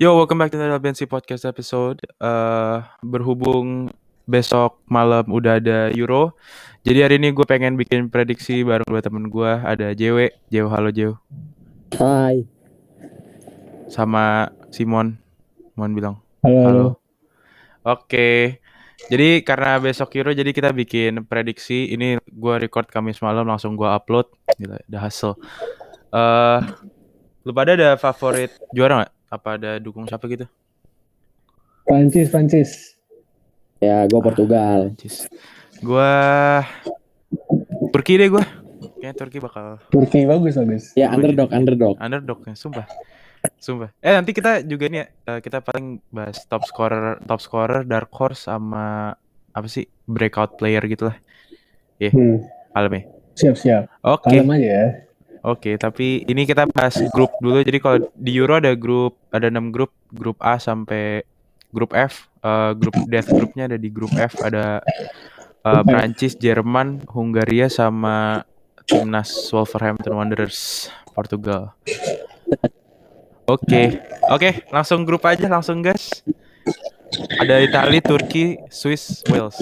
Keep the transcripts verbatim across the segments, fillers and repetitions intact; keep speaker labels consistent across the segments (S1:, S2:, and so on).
S1: Yo, welcome back to the L B N C Podcast episode. Uh, berhubung besok malam udah ada Euro, jadi hari ini gue pengen bikin prediksi bareng dua temen gue. Ada J W, J W, halo J W.
S2: Hai.
S1: Sama Simon, Simon bilang
S2: Halo.
S1: halo. Oke, jadi karena besok Euro, jadi kita bikin prediksi. Ini gue record Kamis malam, langsung gue upload. Gila, udah hasil. Uh, lu pada ada favorit juara nggak? Apa ada dukung siapa gitu?
S2: Prancis, Prancis. Ya, gue Portugal.
S1: Prancis. Gue Turki deh gue. Kayaknya Turki bakal.
S2: Turki bagus bagus. Ya underdog,
S1: jadi.
S2: underdog.
S1: Underdog ya, sumpah. Sumpah. Eh nanti kita juga nih ya, kita paling bahas top scorer, top scorer, dark horse sama apa sih breakout player gitu lah. Ya, yeah. hmm. Kalem ya.
S2: Siap siap.
S1: Oke. Okay.
S2: Kalem aja ya.
S1: Oke, okay, tapi ini kita bahas grup dulu. Jadi kalau di Euro ada grup, ada enam grup, grup A sampai grup F. Uh, grup death grupnya ada di grup F, ada uh, Prancis, Jerman, Hungaria sama timnas Wolverhampton Wanderers Portugal. Oke, okay. oke, okay, langsung grup aja, langsung guys. Ada Italia, Turki, Swiss, Wales.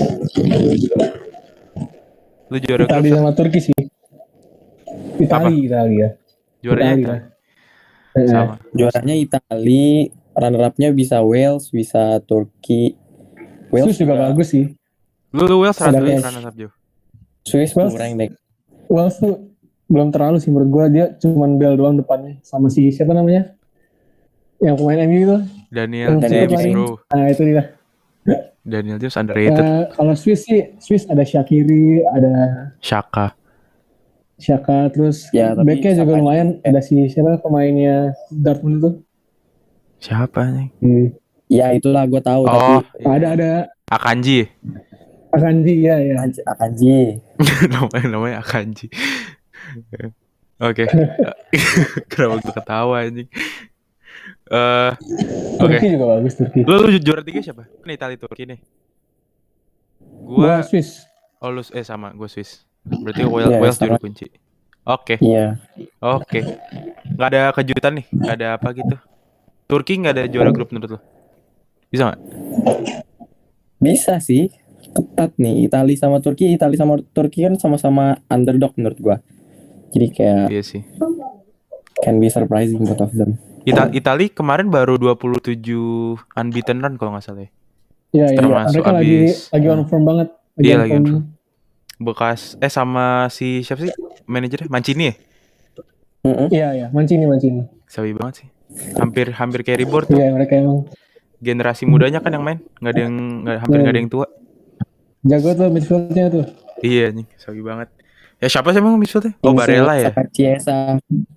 S1: Lu juara grup?
S2: Italia sama Turki sih. Italia, Italia.
S1: Juaranya Italia. Italia. Sama.
S2: Juaranya Italia, runner-up-nya bisa Wales, bisa Turki. Wales Swiss juga bagus sih.
S1: Lu, lu Wales runner-up juga.
S2: Swiss kurang deh. Wales tuh belum terlalu sih menurut gue, dia cuman bel doang depannya sama si siapa namanya yang pemain M U itu
S1: Daniel James bro.
S2: Nah itu dia.
S1: Daniel James underrated.
S2: Uh, kalau Swiss sih, Swiss ada Shaqiri, ada
S1: Xhaka.
S2: Xhaka terus ya, backnya juga lumayan. Ada si siapa pemainnya Dortmund itu?
S1: Siapa nih?
S2: Hmm. Ya itulah gue tahu.
S1: Oh,
S2: tapi
S1: iya.
S2: ada ada.
S1: Akanji.
S2: Akanji ya ya. Akanji.
S1: namanya namanya Akanji. Oke. Kenapa gue ketawa anjing? Uh, Oke.
S2: Okay. Turki juga bagus Turki.
S1: Lu, lu juara tiga siapa? Kan Italia Turki nih. Gua,
S2: gua Swiss.
S1: Oh lu eh sama gue Swiss. Berarti Wales, yeah, Wales juara kunci. Oke. Okay.
S2: Iya. Yeah.
S1: Oke. Okay. Gak ada kejutan nih. Gak ada apa gitu. Turki gak ada juara grup menurut lu? Bisa gak?
S2: Bisa sih. Ketat nih. Italia sama Turki. Italia sama Turki kan sama-sama underdog menurut gua. Jadi kayak
S1: iya sih.
S2: Can be surprising both of them.
S1: Ita- Italia kemarin baru dua puluh tujuh unbeaten run kalau gak salah ya.
S2: Iya iya. Mereka abis, lagi lagi on form banget.
S1: Lagi iya lagi on form. Bekas eh sama si siapa sih manajernya Mancini ya?
S2: Mm-hmm. Iya iya Mancini Mancini.
S1: Sabi banget sih. Hampir hampir carry board tuh.
S2: Iya mereka emang.
S1: Generasi mudanya kan yang main, nggak ada yang nggak, hampir nggak ada yang tua.
S2: Jago tuh midfieldnya tuh.
S1: Iya nih, sabi banget. Ya siapa sih emang midfieldnya? Oh Barella ya.
S2: Chiesa.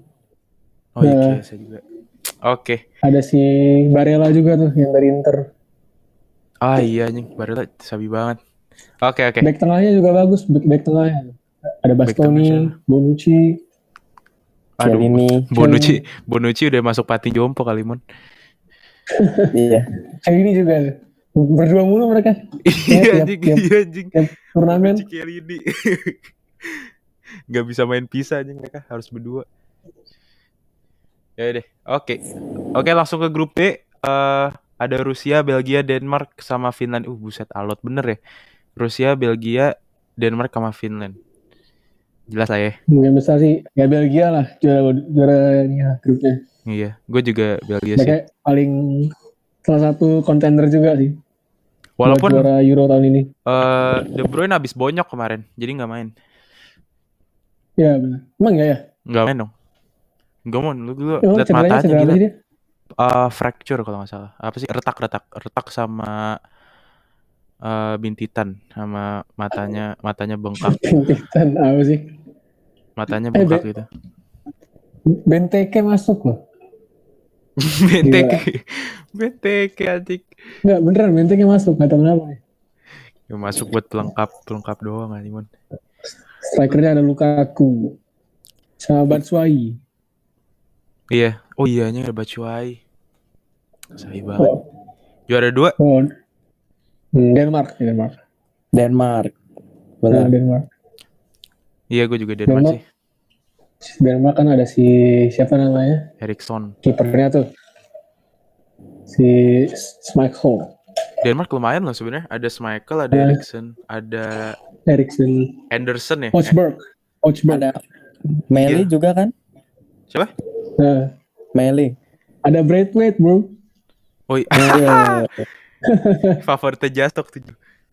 S1: Oh iya Chiesa juga. Oke. Okay.
S2: Ada si Barella juga tuh yang dari Inter.
S1: Ah iya nih Barella sabi banget. Oke okay, oke. Okay.
S2: Back tengahnya juga bagus, back, back tengahnya. Ada Bastoni, Bonucci,
S1: Aduh, Chiellini. Bonucci, Bonucci udah masuk panti jompo kali Mon.
S2: Iya. Chiellini juga berdua mulu mereka.
S1: Iya anjing, iya anjing.
S2: Turnamen.
S1: Chiellini. Gak bisa main pisah anjing mereka, harus berdua. Ya deh, oke. Okay. Oke okay, langsung ke grup B. Uh, ada Rusia, Belgia, Denmark sama Finland. Uh buset alot bener ya. Rusia, Belgia, Denmark sama Finland. Jelas lah ya.
S2: Yang besar sih ya Belgia lah juara juaranya grupnya.
S1: Iya, gue juga Belgia
S2: mereka
S1: sih.
S2: Paling salah satu kontender juga sih.
S1: Walaupun
S2: juara Euro tahun ini.
S1: Uh, De Bruyne abis bonyok kemarin, jadi nggak main.
S2: Iya benar. Emang nggak ya?
S1: Nggak main dong. Nggak mau, lu dulu lihat matanya gila. Uh, fracture kalau nggak salah. Apa sih retak retak retak sama Uh, bintitan sama matanya matanya bengkak.
S2: Bintitan apa sih?
S1: Matanya bengkak eh, gitu.
S2: Benteke masuk loh.
S1: Benteke. Benteke adik.
S2: Enggak beneran Benteke masuk, enggak tahu kenapa.
S1: Ya masuk buat pelengkap, pelengkap doang Alimon.
S2: Strikernya ada Lukaku. Sama Batshuayi.
S1: Iya. Oh iyanya ada Batshuayi. Sayang banget. Oh. Juara dua.
S2: Oh. Denmark, Denmark. Denmark. Benar nah, Denmark.
S1: Iya, gue juga Denmark, Denmark sih.
S2: Denmark kan ada si siapa namanya?
S1: Eriksson.
S2: Kipernya tuh. Si Schmeichel.
S1: Denmark lumayan loh sebenarnya. Ada Schmeichel, ada
S2: Ya.
S1: Eriksen, ada
S2: Eriksen,
S1: Henderson ya.
S2: Forsberg, Forsberg.
S3: Ada Meli
S1: Iya.
S3: juga kan?
S1: Siapa?
S2: Nah,
S3: Meli.
S2: ada Braithwaite bro.
S1: Oh iya.
S3: Iya.
S1: Favoritnya Jastok tuh.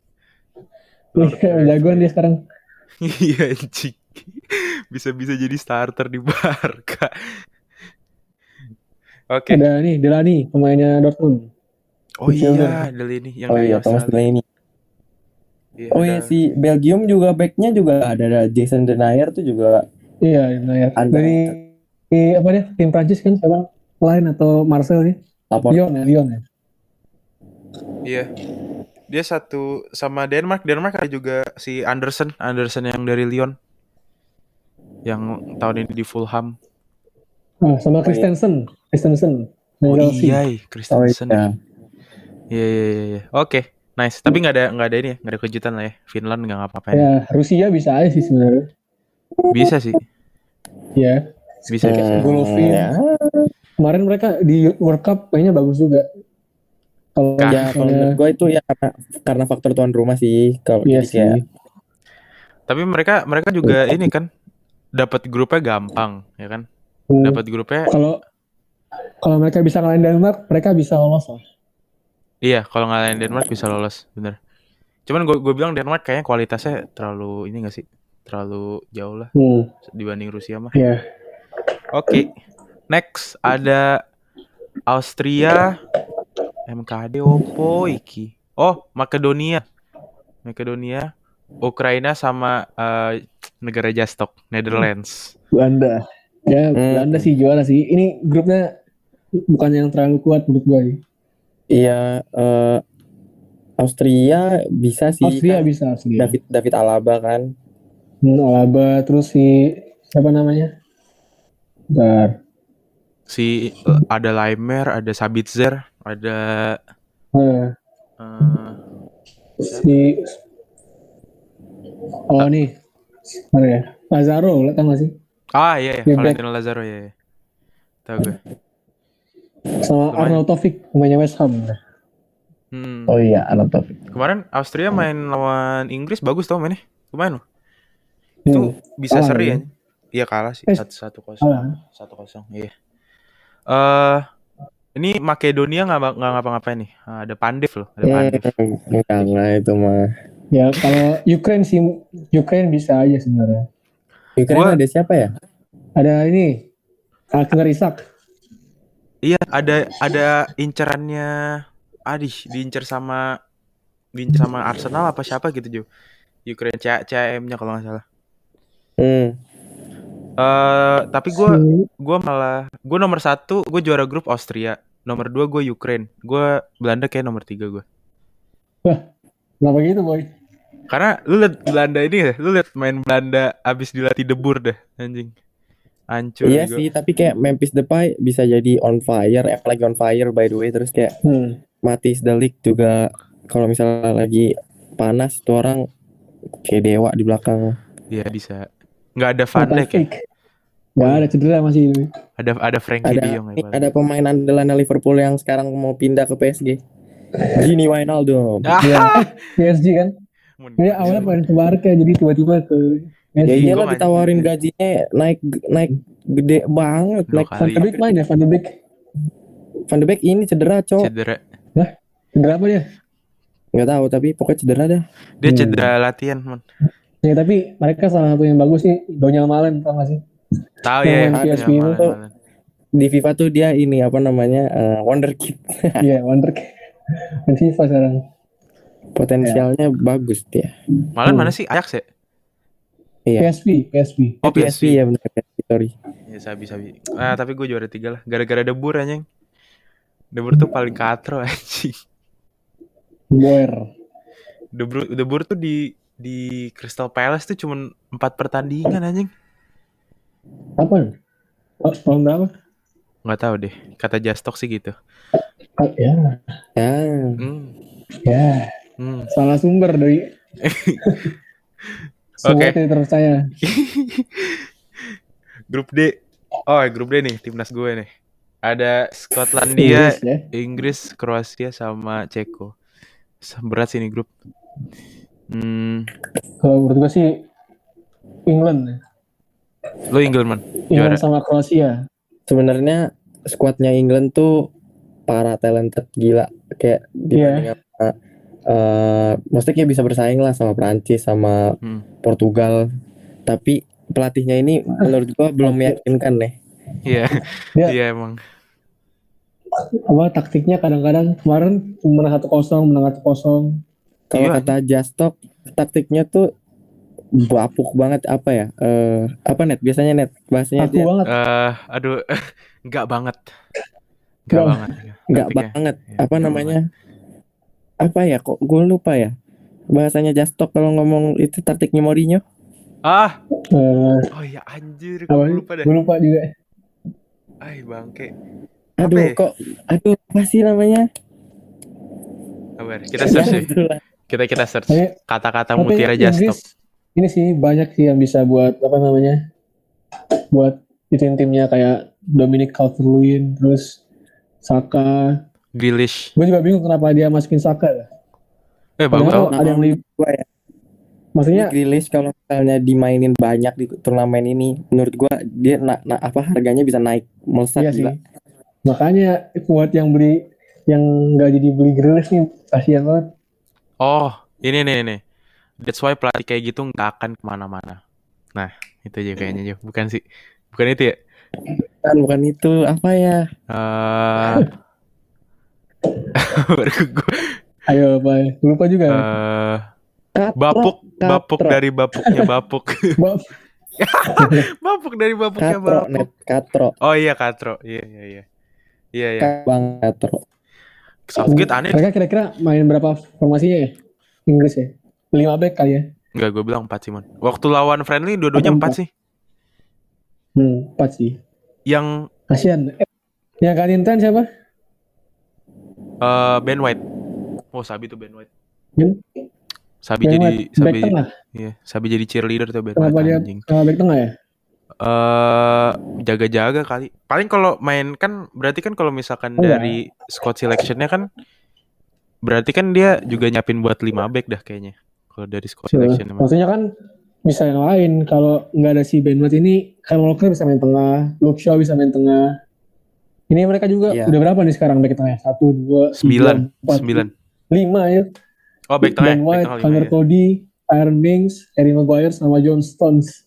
S2: Iya, jagoan dia sekarang.
S1: Iya anjing. Bisa-bisa jadi starter di Barca. Oke.
S2: Ada nih Delaney, pemainnya Dortmund.
S1: Oh
S2: Midfielder.
S1: iya, Delaney yang
S3: Oh
S1: dari
S3: iya, Thomas
S1: Australia.
S3: Delaney.
S1: Iya,
S3: Oh
S1: ada-
S3: iya, si Belgium juga backnya juga ada, ada Jason Denayer tuh juga.
S2: Iya, nah ya.
S3: Ada.
S2: Dari di, apa dia? Tim Prancis kan siapa? Lain atau Marcel nih?
S3: Lapor.
S2: Lyon ya, Lyon ya.
S1: Iya. Dia satu sama Denmark. Denmark ada juga si Anderson, Anderson yang dari Lyon. Yang tahun ini di Fulham.
S2: Ah, sama Christensen, Christensen.
S1: Oh
S2: Dari Chelsea.
S1: iya,
S3: Oh
S1: Christensen.
S3: iya.
S1: Iya iya iya. iya. Oke, nice. Tapi nggak ada nggak ada ini, ya, nggak ada kejutan lah ya. Finland nggak ngapa-ngapain.
S2: Ya, Rusia bisa aja sih sebenarnya.
S1: Bisa sih,
S2: Ya,
S1: bisa bisa.
S3: Hmm,
S2: Golovin.
S3: ya.
S2: kemarin mereka di World Cup mainnya bagus juga. Kalau
S1: Kah?
S3: Ya kalau menurut gue itu ya karena, karena faktor tuan rumah sih. Kalau
S2: iya
S3: jadi kayak
S2: sih.
S1: Tapi mereka mereka juga ini kan dapat grupnya gampang, ya kan?
S2: Hmm,
S1: Dapat grupnya.
S2: Kalau kalau mereka bisa ngalahin Denmark, mereka bisa lolos lah.
S1: Iya, kalau ngalahin Denmark bisa lolos, bener. Cuman gue gue bilang Denmark kayaknya kualitasnya terlalu ini nggak sih? Terlalu jauh lah
S2: Hmm,
S1: dibanding Rusia mah.
S2: ya.
S1: Oke, next ada Austria, M K D opo iki? Oh, Makedonia, Makedonia, Ukraina sama eh, negara Jastok, Netherlands.
S2: Belanda. Ya,
S3: Hmm.
S2: Belanda sih juara sih. Ini grupnya bukan yang terlalu kuat menurut gue.
S3: iya eh, Austria bisa sih.
S2: Austria
S3: kan.
S2: bisa, Austria.
S3: David David Alaba kan.
S2: Hmm, Alaba, terus si siapa namanya? Bentar.
S1: Si eh, ada Laimer, ada Sabitzer, ada
S2: Nah,
S1: eh,
S2: si oh nih, mana ya? Lazaro, lihat nggak sih?
S1: ah iya ya,
S2: Dia back.
S1: Valentino Lazaro ya. ya. Tahu gue.
S2: Sama
S1: Lumayan.
S2: Arnold Taufik, pemainnya West Ham.
S1: Hmm.
S3: Oh iya, Arnold Taufik.
S1: Kemarin Austria main lawan Inggris bagus tau mainnya. Lumayan loh. Itu
S2: Hmm,
S1: bisa
S2: kalah
S1: seri
S2: ya?
S1: ya. Iya kalah sih
S2: Eh,
S1: satu satu kosong.
S2: kalah.
S1: Satu kosong. Iya. Eh ini Makedonia nggak nggak ngapa-ngapain nih. Ah, ada Pandev loh. Ada Pandev.
S3: Hmm, enggak lah itu mah.
S2: Ya kalau Ukraine sih, Ukraine bisa aja sebenarnya.
S3: Ukraina
S1: Gua-
S3: ada siapa ya?
S2: Ada ini, Alexander Isak.
S1: Iya ada ada incerannya. Adih diincer sama diincer sama Arsenal apa siapa gitu Jo. Ukraine C A M-nya kalau nggak salah.
S3: Hmm.
S1: Eh tapi gue
S2: Si-
S1: gue malah gue nomor satu gue juara grup Austria, nomor dua gue Ukraine, gue Belanda kayak nomor tiga gue.
S2: Kenapa gitu boy?
S1: Karena lu liat Belanda ini ya, lu liat main Belanda abis dilatih debur dah anjing, hancur.
S3: Iya
S1: juga.
S3: sih, tapi kayak Memphis Depay bisa jadi on fire, apalagi on fire by the way. Terus kayak
S2: Hmm.
S3: Matthijs de Ligt juga kalau misalnya lagi panas tuh orang kayak dewa di belakang.
S1: Iya bisa. Nggak ada Van Dijk ya?
S2: Gak ada cedera masih ini.
S1: Ada ada Frankie
S3: Ada
S1: De Jong ya.
S3: ada pemain andalan Liverpool yang sekarang mau pindah ke P S G. Gini Wijnaldum.
S1: Ah,
S2: Ya, P S G kan. Dia awalnya pengen ke Barca jadi tiba-tiba ke P S
S3: Ya
S2: G.
S3: iyalah
S1: Gua
S3: ditawarin gajinya naik naik gede banget.
S1: Dua
S3: Naik
S1: kali.
S2: Van de Beek main ya, Van de Beek.
S3: Van de Beek ini cedera, Cok.
S1: cedera.
S2: Cedera apa dia?
S3: Nggak tahu tapi pokoknya cedera dah.
S1: Dia
S2: Hmm.
S1: cedera latihan, man.
S2: Ya tapi mereka salah satu yang bagus sih Donyal Malen, tau gak sih?
S1: Tahu
S2: Yang
S1: ya.
S2: main
S1: ya,
S2: P S V
S1: ya,
S2: itu
S1: Malen,
S3: tuh.
S1: Malen.
S3: Di FIFA tuh dia ini apa namanya eh, wonderkid.
S2: Iya, Wonder main FIFA sekarang.
S3: Potensialnya bagus dia.
S1: Malen
S2: Hmm.
S1: mana sih? Ajax ya?
S3: Iya.
S2: P S V, P S V.
S1: Oh,
S3: P S V ya benar. Sorry.
S1: Ya sabi sabi. Ah tapi gue juara tiga lah. Gara-gara debur anjing. Debur tuh paling katro anjing.
S2: Boer.
S1: Debur debur tuh di di Crystal Palace tuh cuman empat pertandingan anjing.
S2: Apa? Oh, tahun berapa?
S1: Nggak tahu deh. Kata Jastok sih gitu.
S2: Ah, ya,
S3: Ya.
S1: Hmm.
S2: ya.
S1: Hmm.
S2: Salah sumber dari semua
S1: Oke.
S2: tidak terpercaya.
S1: Grup D. Oh, grup D nih timnas gue nih. Ada Skotlandia,
S2: Inggris ya.
S1: Inggris, Kroasia sama Ceko. Berat sih ini grup. Hmm,
S2: Kalau menurut gue sih England ya.
S1: lo England man,
S2: England
S1: juara.
S2: sama Kroasia.
S3: Sebenarnya skuadnya England tuh para talented gila, kayak dibanding
S2: Iya.
S3: sama eh maksudnya kayak bisa bersaing lah sama Prancis sama
S1: Hmm.
S3: Portugal. Tapi pelatihnya ini menurut gua belum meyakinkan deh.
S1: Iya,
S2: Dia-
S1: iya emang.
S2: Apa taktiknya kadang-kadang kemarin menang satu kosong, menang satu kosong.
S3: Kalau
S1: Iya.
S3: kata Jastok, taktiknya tuh bapuk banget apa ya? Eh apa net? Biasanya net bahasanya
S2: Aku
S3: dia
S2: banget.
S1: Eh, aduh, enggak banget. Enggak
S2: Nggak-
S1: banget.
S3: nggak
S1: Taktiknya.
S3: banget.
S1: Iya,
S3: Apa
S1: nggak
S3: namanya? Apa ya? Kok gue lupa ya? Bahasanya Jastok kalau ngomong itu taktiknya Mourinho.
S1: Ah,
S2: Eh,
S1: oh iya anjir,
S2: apa
S1: gue
S2: sih?
S1: lupa dah.
S2: Gue lupa juga.
S1: Ay bangke.
S3: Aduh,
S1: Apa ya?
S3: kok aduh apa sih namanya?
S1: Kabar. Kita search
S3: Ya,
S1: deh.
S3: itulah.
S1: Kita kita search
S2: Tapi-
S1: kata-kata
S2: Tapi
S1: mutiara
S2: Inggris
S1: Jastok.
S2: ini sih banyak sih yang bisa buat apa namanya? Buat tim timnya kayak Dominic Calvert-Lewin, terus Saka.
S1: Grealish.
S2: Gue juga bingung kenapa dia masukin Saka. Ya.
S1: Eh bagus
S2: Padahal
S1: tau.
S2: ada yang lebih,
S3: Gua ya.
S2: maksudnya
S3: Grealish kalau misalnya dimainin banyak di turnamen ini, menurut gua dia na, na- apa harganya bisa naik melesat
S2: iya sih.
S3: gila.
S2: Makanya buat yang beli yang nggak jadi beli Grealish nih kasihan banget.
S1: Oh, ini nih nih. That's why pelatih kayak gitu nggak akan kemana-mana. Nah, itu aja kayaknya Jo. Bukan sih. Bukan itu ya.
S3: Kan bukan itu apa ya?
S1: Eh, baru gua-
S2: Ayo Pak, lupa juga.
S1: eh,
S3: Katro,
S1: bapuk, bapuk
S3: Katro.
S1: dari bapuknya bapuk.
S2: Bab,
S1: Bapuk dari bapuknya
S3: Katro
S1: bapuk.
S3: net Katro.
S1: Oh iya Katro. Iya iya iya. Iya iya.
S3: Bang Katro.
S1: Southgate aneh.
S2: mereka kira-kira main berapa formasinya ya? Inggris ya? lima back kali ya?
S1: Enggak, gue bilang empat sih, Mon. Waktu lawan friendly dua-duanya
S2: Apa
S1: empat
S2: empat?
S1: sih.
S2: Hmm, empat sih.
S1: Yang
S2: Kasihan. Eh, yang kalian ten siapa?
S1: eh Ben White. Oh, Sabi tuh Ben White.
S2: Ben?
S1: Sabi
S2: Ben
S1: jadi
S2: White, back
S1: Sabi
S2: tengah.
S1: iya, Sabi jadi cheerleader tuh Ben
S2: Kenapa
S1: White
S2: dia
S1: anjing.
S2: uh, back tengah ya?
S1: Eh jaga-jaga kali. Paling kalau main kan berarti kan kalau misalkan
S2: Enggak.
S1: dari squad selection-nya kan berarti kan dia juga nyiapin buat lima back dah kayaknya. Kalau dari squad selection emang.
S2: Maksudnya kan bisa yang lain. Kalau nggak ada si Ben White ini, Kyle Walker bisa main tengah, Luke Shaw bisa main tengah. Ini mereka juga
S3: Iya.
S2: udah berapa nih sekarang back tengah? Satu, dua,
S1: Sembilan,
S2: tiga, empat,
S1: sembilan.
S2: lima ya.
S1: Oh, back tengah.
S2: Ben
S1: Back
S2: White,
S1: tengah lima
S2: Connor
S1: ya.
S2: Cody, Aaron Mings, Harry Maguire, sama John Stones.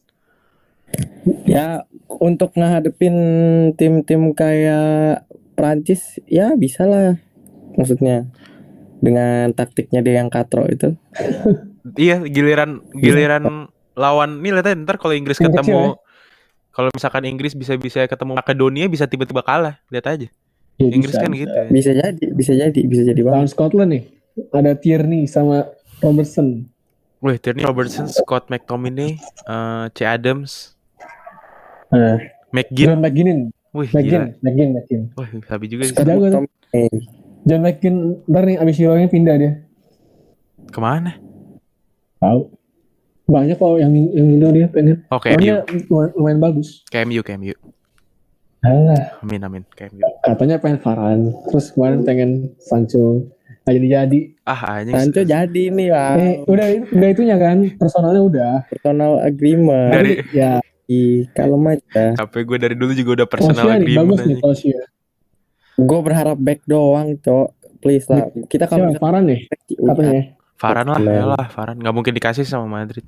S3: Ya untuk ngehadepin tim-tim kayak Prancis ya bisa lah. Maksudnya dengan taktiknya dia yang Katro itu.
S1: Iya, giliran giliran lawan nih lihat aja ntar kalau Inggris
S2: Tim kecil ya.
S1: ketemu kalau misalkan Inggris bisa-bisa ketemu Makedonia bisa tiba-tiba kalah. Lihat aja.
S2: Ya,
S1: Inggris
S2: bisa,
S1: kan
S2: bisa.
S1: gitu ya.
S3: Bisa jadi, bisa jadi, bisa jadi
S2: Lawan
S3: banget.
S2: Scotland nih, ada Tierney sama Robertson.
S1: Wih, Tierney Robertson, Scott McTominay, eh C. Adams,
S2: Nah,
S1: McGinn.
S2: John McGinn,
S1: Wih, gila.
S2: McGinn, McGinn, McGinn.
S1: Wih, sabi juga sih.
S3: Scott
S2: Jago tuh.
S3: McTominay.
S2: John McGinn, ntar nih abis Euro-nya pindah dia.
S1: Kemana?
S2: Tahu. Banyak kok yang yang Indo dia pengen.
S1: Oh, K M U.
S2: Soalnya lumayan, lumayan bagus.
S1: K M U, K M U.
S2: Alah,
S1: Amin, amin. K M U.
S2: katanya pengen Varane, terus kemarin pengen Sancho. Nggak jadi-jadi.
S1: Ah, anjing.
S3: Sancho jadi nih lah.
S2: Eh, udah udah itunya kan, personalnya udah.
S3: Personal agreement.
S1: Dari
S2: Ya,
S3: Ih, kalem aja.
S1: H P gue dari dulu juga udah personal
S2: Kroasia nih,
S1: agreement
S2: bagus nih
S1: anjing.
S2: Kroasia.
S3: Gue berharap back doang, Cok. Please lah. Kita kalau
S2: Siapa? Varane nih, katanya.
S1: Varane lah,
S3: Bener.
S1: ya lah, Varane. Nggak mungkin dikasih sama Madrid.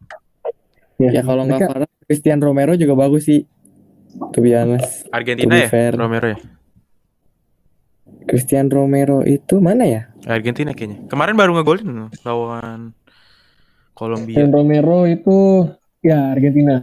S3: ya kalau nggak
S2: mereka-
S3: Varane, Christian Romero juga bagus sih. To be honest.
S1: Argentina
S3: To be
S1: ya?
S3: fair.
S1: Romero ya?
S3: Christian Romero itu mana ya?
S1: Argentina kayaknya. Kemarin baru ngegolin loh, lawan Kolombia.
S2: Dan Romero itu ya Argentina,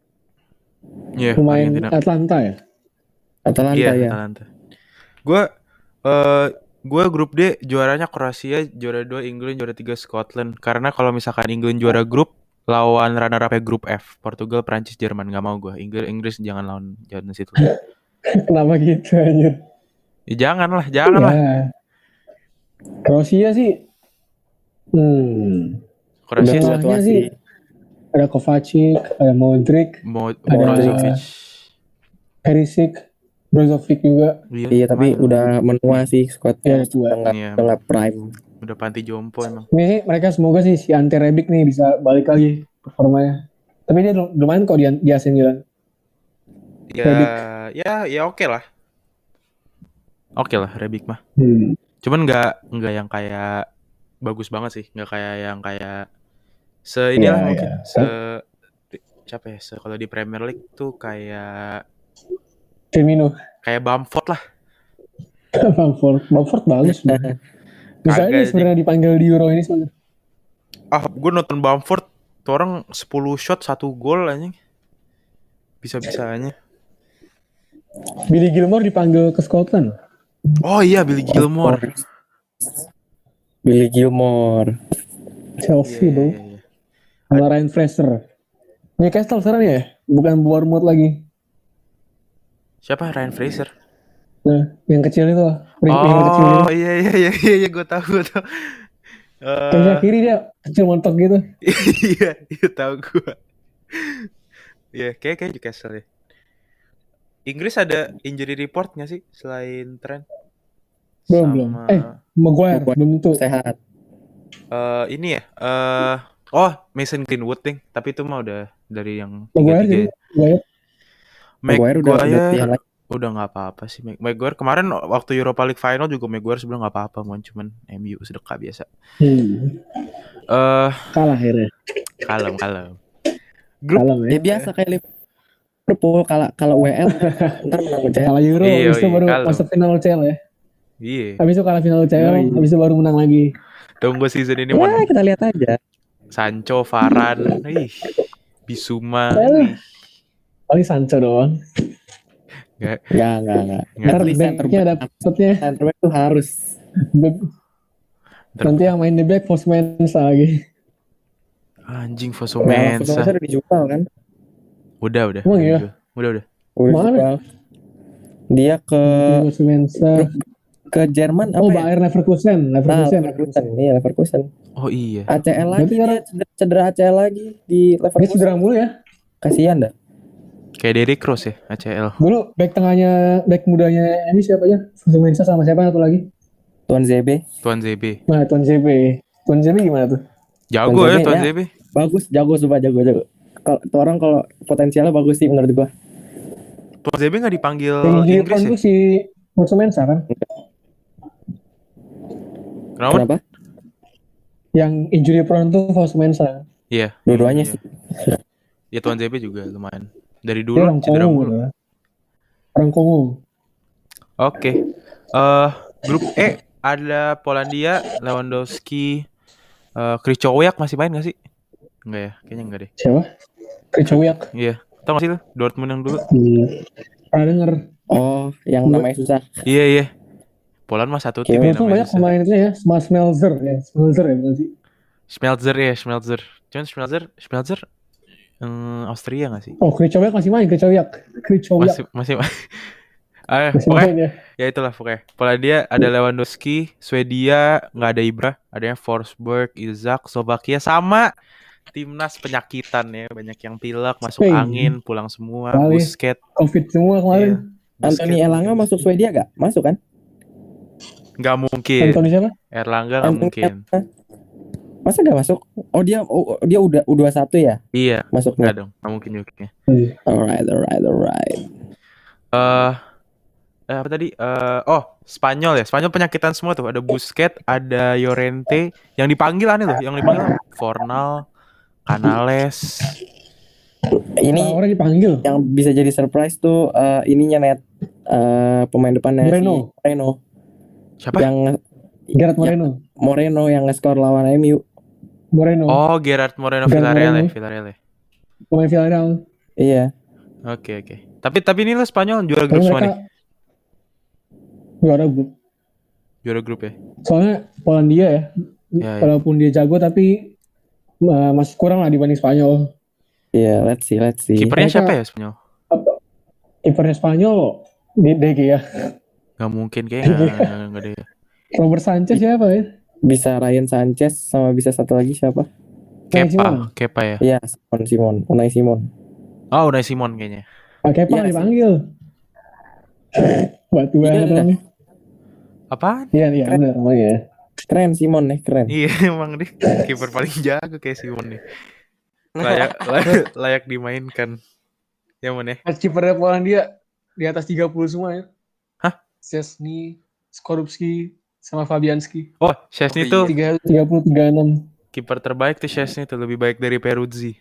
S1: Iya,
S2: pemain
S1: Argentina.
S2: Atlanta ya.
S3: Atalanta
S1: Iya,
S3: ya.
S1: Atalanta. Gue eh gue grup D juaranya Kroasia, juara dua England, juara tiga Scotland. Karena kalau misalkan England juara grup, lawan runner up grup F, Portugal, Prancis, Jerman. Nggak mau gue. Inggris, Inggris jangan lawan jangan situ.
S2: Kenapa gitu anjir?
S1: Ya, jangan lah, jangan lah.
S2: Ya. Kroasia sih, hmm,
S1: Kroasia
S3: Udah
S2: Tengahnya
S3: tua
S2: sih. ada Kovacic, ada Modric,
S1: mau
S2: Ada-
S1: Brozovic.
S2: Perisic, Brozovic juga.
S1: Iya,
S3: Iya tapi
S1: lumayan.
S3: udah menua sih squadnya,
S2: Ya, tua.
S3: udah nggak
S1: Iya,
S3: udah nggak prime.
S1: udah panti jompo emang.
S2: Ini mereka semoga sih si Ante Rebic nih bisa balik lagi performanya. Tapi dia lumayan kok di, di A C Milan.
S1: Ya,
S2: Rebic.
S1: ya, ya oke lah. Oke lah, Rebic mah.
S2: Hmm.
S1: Cuman nggak nggak yang kayak bagus banget sih, nggak kayak yang kayak se inilah
S2: Iya,
S1: mungkin
S2: iya.
S1: se siapa ya? Se kalau di Premier League tuh kayak
S2: Firmino.
S1: kayak Bamford lah.
S2: Bamford. Bamford bagus. Bisa
S1: Kagak
S2: ini
S1: sih.
S2: sebenarnya dipanggil di Euro ini sebenarnya.
S1: Ah, gue nonton Bamford, tuh orang sepuluh shot satu gol anjing. Bisa-bisanya.
S2: Billy Gilmore dipanggil ke Scotland.
S1: Oh iya, Billy Gilmore.
S3: Billy Gilmore.
S2: Chelsea
S1: Iya,
S2: bro.
S1: iya, iya.
S2: Sama Ryan Fraser. Newcastle sekarang ya? Bukan Bournemouth lagi.
S1: Siapa? Ryan Fraser.
S2: Nah, yang kecil itu lah. Yang kecil itu.
S1: Oh iya iya iya iya, iya gue tahu gue tahu.
S2: Kayak
S1: Eh,
S2: kiri dia kecil montok gitu.
S1: iya iya tahu gue. Iya kayak kayak Newcastle ya. Inggris ada injury report nggak sih selain Trent?
S2: Belum
S1: Sama
S2: belum. Eh, Maguire
S3: Maguire.
S2: belum tentu.
S3: Sehat.
S1: eh, ini ya. eh oh Mason Greenwood ding. Tapi itu mah udah dari yang
S2: Maguire
S1: tiga
S2: jadi
S1: tiga.
S2: Maguire.
S3: Maguire udah udah latihan
S1: Maguire
S3: lagi.
S1: udah nggak apa-apa sih. Mag- Maguire kemarin waktu Europa League final juga Maguire sebenarnya nggak apa-apa, mon cuman M U sedekah biasa.
S2: Hmm.
S1: Eh
S2: Kalah akhirnya.
S1: kalem kalem. Grup
S2: Kalah
S3: Ya
S2: ya.
S3: biasa kayak Liverpool kalau kalau W L ntar menang U C L.
S2: Kalah Euro,
S1: Iya,
S2: habis itu
S1: iya,
S2: baru
S1: kalah.
S2: masuk final U C L ya.
S1: iya.
S2: Habis itu kalah final U C L,
S3: Yoi.
S2: habis itu baru menang lagi.
S1: Tunggu season ini
S3: Ya
S1: mon.
S3: kita lihat aja.
S1: Sancho, Varane, ih, Bisuma,
S2: Eh.
S1: ih.
S2: Paling Sancho doang.
S1: Nggak,
S3: Enggak enggak enggak.
S1: nggak.
S2: Ntar
S3: At least center
S2: backnya
S3: back
S2: dapetnya.
S3: center back tuh harus.
S1: Ntar-
S2: Nanti yang main di back Fosu Mensah lagi.
S1: Anjing
S3: Nah,
S1: Fosumensa.
S3: Fosu udah dijual kan?
S1: Udah, udah.
S2: Emang
S1: udah,
S2: iya?
S1: dijual. Udah, udah.
S3: Udah
S2: Mana?
S3: dijual. Dia ke
S2: Fosu Mensah.
S3: ke Jerman apa
S2: Oh,
S3: ya?
S2: Bayer Leverkusen,
S3: Nah,
S2: Leverkusen.
S3: Leverkusen. Iya, Leverkusen.
S1: Oh iya.
S3: A C L lagi
S2: Berarti
S3: dia
S2: sekarang-
S3: cedera, cedera A C L lagi di
S2: Dia
S3: Leverkusen.
S2: cedera mulu ya.
S3: Kasihan dah.
S1: Kayak Derrick Rose ya, A C L.
S2: Dulu back tengahnya, back mudanya ini siapa aja? Fosu Mensah sama siapa satu lagi?
S3: Tuan Z B
S1: Tuan Z B.
S2: Nah, Tuan Z B. Tuan Z B gimana tuh?
S1: Jago
S3: Tuan
S1: ya
S3: Z B,
S1: Tuan
S3: ya.
S1: Z B.
S3: bagus, jago sumpah jago jago. Kalau tuh orang kalau potensialnya bagus sih menurut gua.
S1: Tuan Z B nggak dipanggil
S2: Yang injury
S1: Inggris
S2: prone
S1: ya?
S2: tuh si Fosu Mensah kan?
S1: Kenapa?
S3: Kenapa?
S2: Yang injury prone tuh Fosu Mensah.
S1: Iya.
S3: Dua-duanya
S1: iya.
S3: sih.
S1: Ya Tuan Z B juga lumayan. Dari
S2: Dia
S1: dulu
S2: orang
S1: cedera
S2: Kongo
S1: mulu.
S2: gitu. Orang Kongo.
S1: Oke. Eh grup E ada Polandia, Lewandowski, eh Krychowiak masih main nggak sih? Enggak ya, kayaknya enggak deh.
S2: Siapa? Krychowiak.
S1: Iya. Tau gak sih lu Dortmund yang dulu?
S2: Hmm. Pernah denger.
S3: Oh, yang namanya susah.
S1: Iya iya. Poland mah satu tim
S3: Iya,
S1: ya
S2: Itu
S1: namanya.
S2: banyak pemain itu ya. Sama Smelzer ya. Smelzer ya bener sih.
S1: Schmelzer ya, Schmelzer. Cuman Schmelzer, Schmelzer hmm, Austria gak sih?
S2: Oh, Krychowiak masih main. Krychowiak. Krychowiak.
S1: Masih masih Ah,
S2: Masih
S1: pokoknya
S2: main ya.
S1: ya itulah pokoknya. Polandia ada Lewandowski, Swedia nggak ada Ibra, adanya Forsberg, Isak, Slovakia sama timnas penyakitan ya, banyak yang pilek, masuk
S2: Spain.
S1: angin, pulang semua,
S2: Bali.
S1: Busquets.
S2: Covid semua kemarin.
S1: Iya.
S3: Anthony
S1: Busquets.
S3: Elanga masuk Swedia gak? Masuk kan?
S1: Nggak mungkin.
S2: Anthony siapa?
S1: Erlangga nggak
S3: Anthony
S1: mungkin.
S3: Elanga. Masa gak masuk? Oh dia oh, dia udah U dua puluh satu ya
S1: Iya, nggak
S3: masuknya.
S1: dong, nggak mungkin juga.
S3: Alright, alright, alright.
S1: Eh eh, apa tadi? Eh oh, Spanyol ya. Spanyol penyakitan semua tuh. Ada Busquets, ada Llorente. Yang dipanggil aneh loh. Yang dipanggil apa? Fornal, Canales.
S3: Ini
S2: Orang dipanggil.
S3: yang bisa jadi surprise tuh eh, ininya net eh, pemain depannya
S2: Moreno.
S3: si Moreno
S1: Siapa?
S3: yang
S2: Gerard
S3: Ya.
S2: Moreno.
S3: Moreno yang nge-score lawan M U.
S2: Moreno.
S1: Oh, Gerard Moreno
S2: Gerard
S1: Villarreal ya,
S2: Moreno.
S1: Villarreal ya.
S2: Pemain Villarreal.
S3: Iya.
S1: Oke, oke. Tapi tapi ini lo Spanyol juara
S2: Tapi
S1: grup semua nih.
S2: mereka juara grup.
S1: Juara grup ya.
S2: Soalnya Polandia ya.
S1: Ya, ya.
S2: Walaupun dia jago tapi uh, masih kurang lah dibanding Spanyol.
S3: Iya, let's see, let's see.
S1: Kipernya
S2: Mereka-
S1: siapa ya Spanyol?
S2: Kipernya Spanyol di D G ya.
S1: Gak mungkin kayaknya nggak nggak ada ya.
S2: Robert Sanchez siapa ya?
S3: Bisa Ryan Sanchez sama bisa satu lagi siapa?
S2: Unai Simon.
S1: Kepa, Kepa ya.
S3: Iya, Simon Simon, Unai Simon.
S1: Oh, Unai Simon kayaknya.
S2: Ah, Kepa
S3: Iya,
S2: dipanggil. Batu
S3: Iya,
S2: banget
S3: iya.
S2: namanya.
S1: Apaan?
S2: Iya, iya benar namanya.
S3: Keren Simon nih, keren.
S1: Iya emang deh kiper paling jago kayak Simon nih. Layak layak, layak dimainkan. Ya Mon ya.
S2: Match kipernya Polandia di atas tiga puluh semua ya.
S1: Hah?
S2: Szczesny, Skorupski, sama Fabianski.
S1: Oh, Szczesny
S3: Oh,
S1: tuh
S3: iya.
S2: tiga puluh tiga puluh enam.
S1: kiper terbaik tuh Szczesny tuh lebih baik dari Peruzzi.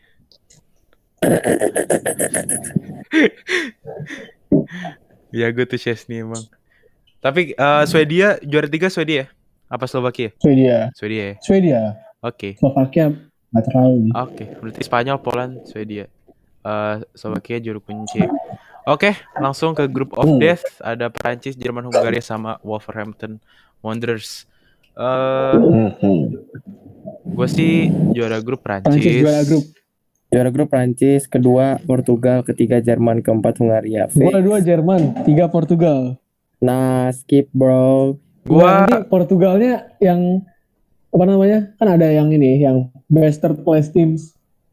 S1: Ya gue tuh Szczesny emang. Tapi eh, Swedia juara tiga Swedia ya? Apa Slovakia?
S2: Swedia.
S1: Swedia ya.
S2: Swedia.
S1: Oke.
S2: Slovakia nggak terlalu.
S1: Oke, berarti Spanyol, Poland, Swedia. Eh Slovakia juru kunci. Oke, langsung ke Group of
S2: Hmm.
S1: Death. Ada Prancis, Jerman, Hungaria sama Wolverhampton Wanderers. Eh gue sih juara grup Prancis.
S2: Prancis juara grup.
S3: Juara grup Prancis, kedua Portugal, ketiga Jerman, keempat Hungaria.
S2: Gua
S3: Fix.
S2: dua Jerman, tiga Portugal.
S3: Nah, skip bro.
S2: Gua
S1: Gua
S2: nanti Portugalnya yang apa namanya? Kan ada yang ini, yang best third place teams.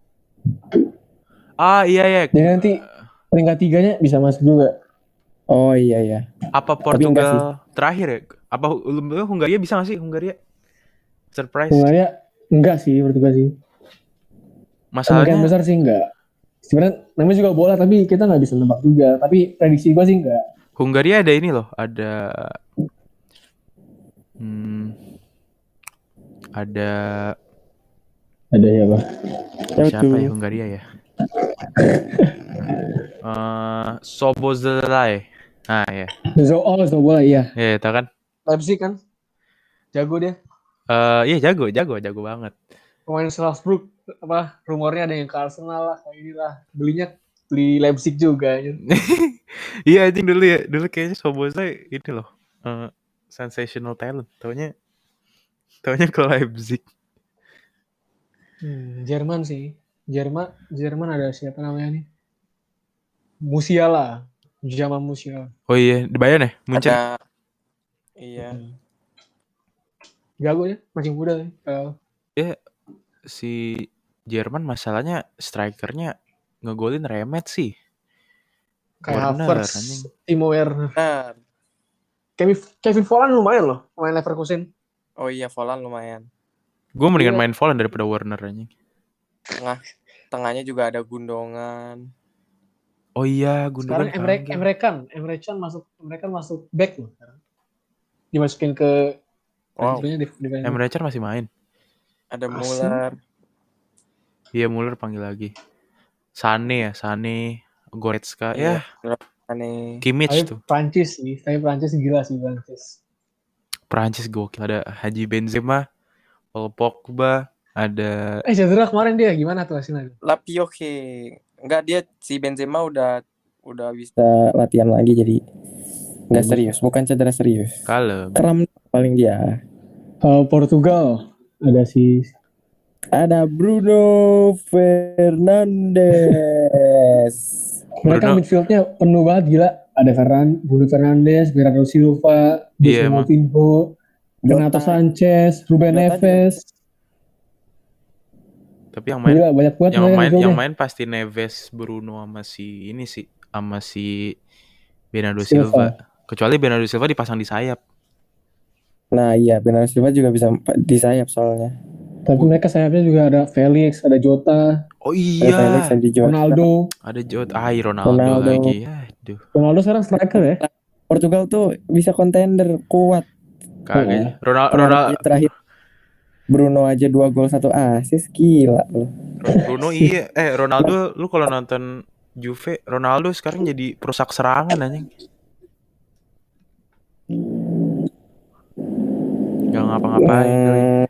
S1: ah iya ya.
S2: Jadi nanti peringkat tiganya bisa masuk juga.
S3: Oh iya ya.
S1: Apa
S3: Tapi enggak sih.
S1: Portugal terakhir ya? Apa Hu- Hungaria bisa gak sih Hungaria? Surprise.
S2: Hungaria enggak sih menurut gua sih. Kemungkinan
S1: Masalahnya
S2: besar sih enggak. Sebenarnya namanya juga bola tapi kita nggak bisa nebak juga. Tapi prediksi gua sih enggak.
S1: Hungaria ada ini loh, ada hmm, ada
S2: Ada ya, Pak.
S1: siapa ya Hungaria ya? Eh Sobozlai. Nah ya.
S2: Zo oh, Zo bola iya.
S1: Ya, tau kan?
S2: Leipzig kan. Jago dia.
S1: Eh iya jago, jago, jago banget.
S2: Pemain Salzburg apa rumornya ada yang ke Arsenal lah kayak inilah. Belinya beli Leipzig juga.
S1: Iya anjing dulu ya, dulu kayaknya Sobozlai ini loh. eh, sensational talent. Taunya taunya ke Leipzig.
S2: Hmm, Jerman sih. Jerman, Jerman ada siapa namanya nih? Musiala, Jamal Musiala.
S1: Oh iya, di Bayern ya? Munchen.
S3: Ada. Iya.
S2: Jago ya, masih muda ya. Uh,
S1: Ya si Jerman masalahnya strikernya ngegolin remet sih.
S2: kayak
S1: Werner,
S2: Havertz,
S1: anjing.
S2: Timo Werner.
S3: Nah.
S2: Kevin, Kevin Volland lumayan loh, pemain Leverkusen.
S3: Oh iya, Volan lumayan.
S1: Gue mendingan
S2: Iya.
S1: main Volland daripada Werner anjing.
S3: Tengah tengahnya juga ada Gundongan.
S1: Oh iya,
S2: Sekarang
S1: Gundogan
S2: Emre
S1: panggil.
S2: Emre Can, Emre Can masuk, Emre Can masuk back loh sekarang. Dimasukin ke
S3: Wow.
S2: di, di, di,
S1: Emre Can masih main.
S3: Ada
S2: Asli.
S3: Muller.
S1: Iya, Muller panggil lagi. Sane ya, Sane, Goretzka.
S3: Iya.
S1: Ya,
S3: Aneh.
S1: Kimmich
S2: Tapi
S1: tuh.
S2: Prancis sih, tapi Prancis gila sih Prancis.
S1: Prancis gokil. Ada Haji Benzema, Paul Pogba, ada
S2: Eh cedera kemarin dia gimana tuh hasilnya?
S3: Lapioke. Enggak, dia si Benzema udah udah bisa latihan lagi jadi enggak serius, bukan cedera serius.
S1: Kalem.
S3: Kram paling dia.
S2: Kalau Portugal ada si
S3: Ada Bruno Fernandes.
S2: mereka
S1: Bruno.
S2: midfieldnya penuh banget gila. Ada Ferran, Bruno Fernandes, Bernardo Silva,
S1: Iya,
S2: Jose
S1: emang.
S2: Moutinho, Renato
S3: Jota.
S2: Sanchez, Ruben
S3: Jota
S2: Neves.
S1: Tapi yang main
S2: Gila banyak banget
S1: yang
S2: mereka
S1: main
S2: midfieldnya.
S1: yang main pasti Neves, Bruno sama si ini sih, sama si Bernardo
S2: Silva.
S1: Silva. Kecuali Bernardo Silva dipasang di sayap.
S3: Nah, iya, Bernardo Silva juga bisa di sayap soalnya.
S2: Tapi mereka sayapnya juga ada Felix, ada Jota,
S1: Oh
S3: Ada Felix
S1: iya.
S3: dan di Jota.
S2: Ronaldo.
S1: Ada Jota, ay Ronaldo,
S3: Ronaldo.
S1: lagi. Aduh,
S2: Ronaldo sekarang striker ya.
S3: Portugal tuh bisa kontender kuat.
S1: kagak. Ronaldo
S3: Kemarin
S1: Ronaldo
S3: aja terakhir Bruno aja dua gol satu assist, gila loh.
S1: Bruno iya, eh Ronaldo lu kalau nonton Juve, Ronaldo sekarang jadi perusak serangan anjing. Gak ngapa-ngapain. kali.
S3: Hmm,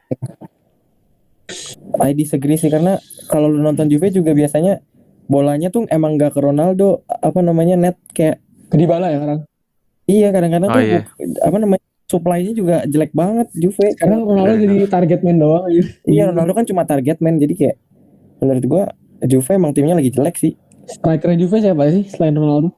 S3: I disagree sih karena kalau lu nonton Juve juga biasanya bolanya tuh emang gak ke Ronaldo, apa namanya net kayak
S2: Ke Dybala ya sekarang.
S3: iya kadang-kadang
S1: Oh,
S3: tuh
S1: iya.
S3: bu- apa namanya supply-nya juga jelek banget Juve.
S2: Sekarang Ronaldo
S1: Fair
S2: jadi target man doang gitu.
S3: Iya Ronaldo kan cuma target man jadi kayak menurut gua Juve emang timnya lagi jelek sih.
S2: Striker Juve siapa sih selain Ronaldo?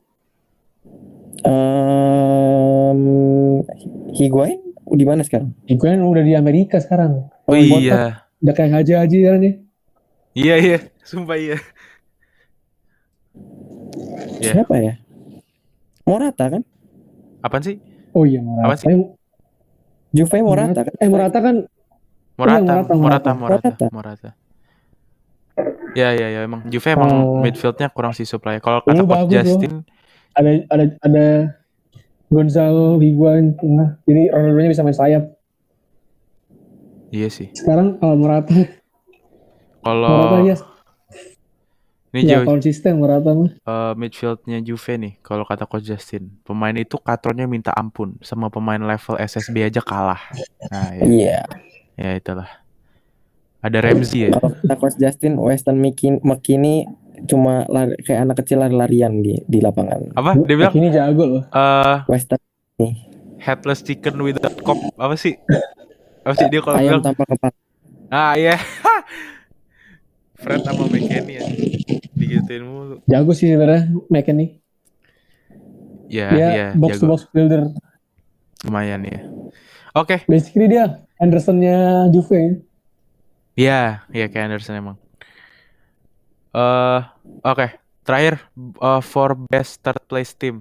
S3: Um, Higuain di mana sekarang?
S2: Higuain udah di Amerika sekarang.
S1: Oh iya.
S2: Udah kayak haji-haji kan ya.
S1: Iya iya, sumpah iya. Iya.
S3: Siapa ya? Morata kan?
S1: Apaan sih?
S2: Oh iya
S1: Apaan
S2: Morata.
S1: sih?
S2: Eh,
S3: Juve Morata kan?
S2: Eh Morata kan
S1: Morata,
S2: Morata,
S1: Morata,
S2: Morata.
S1: Morata,
S3: Morata.
S1: Morata. Ya, ya, ya. Emang Juve emang
S2: uh,
S1: midfieldnya kurang sih supply. Kalau
S2: dulu
S1: kata coach
S2: bagus loh.
S1: Justin,
S2: Ada ada ada Gonzalo Higuain tengah. Jadi Ronaldo-nya bisa main sayap.
S1: iya sih.
S2: Sekarang kalau Morata, Morata
S1: Kalau
S2: dia
S1: ini
S2: nggak
S1: Joy,
S2: konsisten Morata mah.
S1: eh, midfieldnya Juve nih, kalau kata coach Justin, pemain itu katronnya minta ampun, sama pemain level S S B aja kalah. Nah, ya,
S3: Iya.
S1: ya itulah. Ada Ramsey ya.
S3: Kalau kata Coach Justin, Weston McKin- McKinney cuma lari, kayak anak kecil lari-larian di di lapangan.
S1: Apa? Dia bilang,
S2: Ini jago loh.
S1: eh
S3: Weston nih,
S1: headless chicken without cop. Apa sih? Apa sih dia kalau
S3: ayam
S1: bilang?
S3: tanpa kepala.
S1: Ah iya. Fred sama McKennie aja. Digituin mulu.
S2: Jago sih sebenarnya McKennie.
S1: Ya,
S2: Dia
S1: ya,
S2: box to
S1: jago.
S2: box builder.
S1: Lumayan ya. Oke.
S2: Basically dia Anderson-nya Juve.
S1: Ya, ya kayak Anderson emang. Eh, oke. Terakhir uh, for best third place team.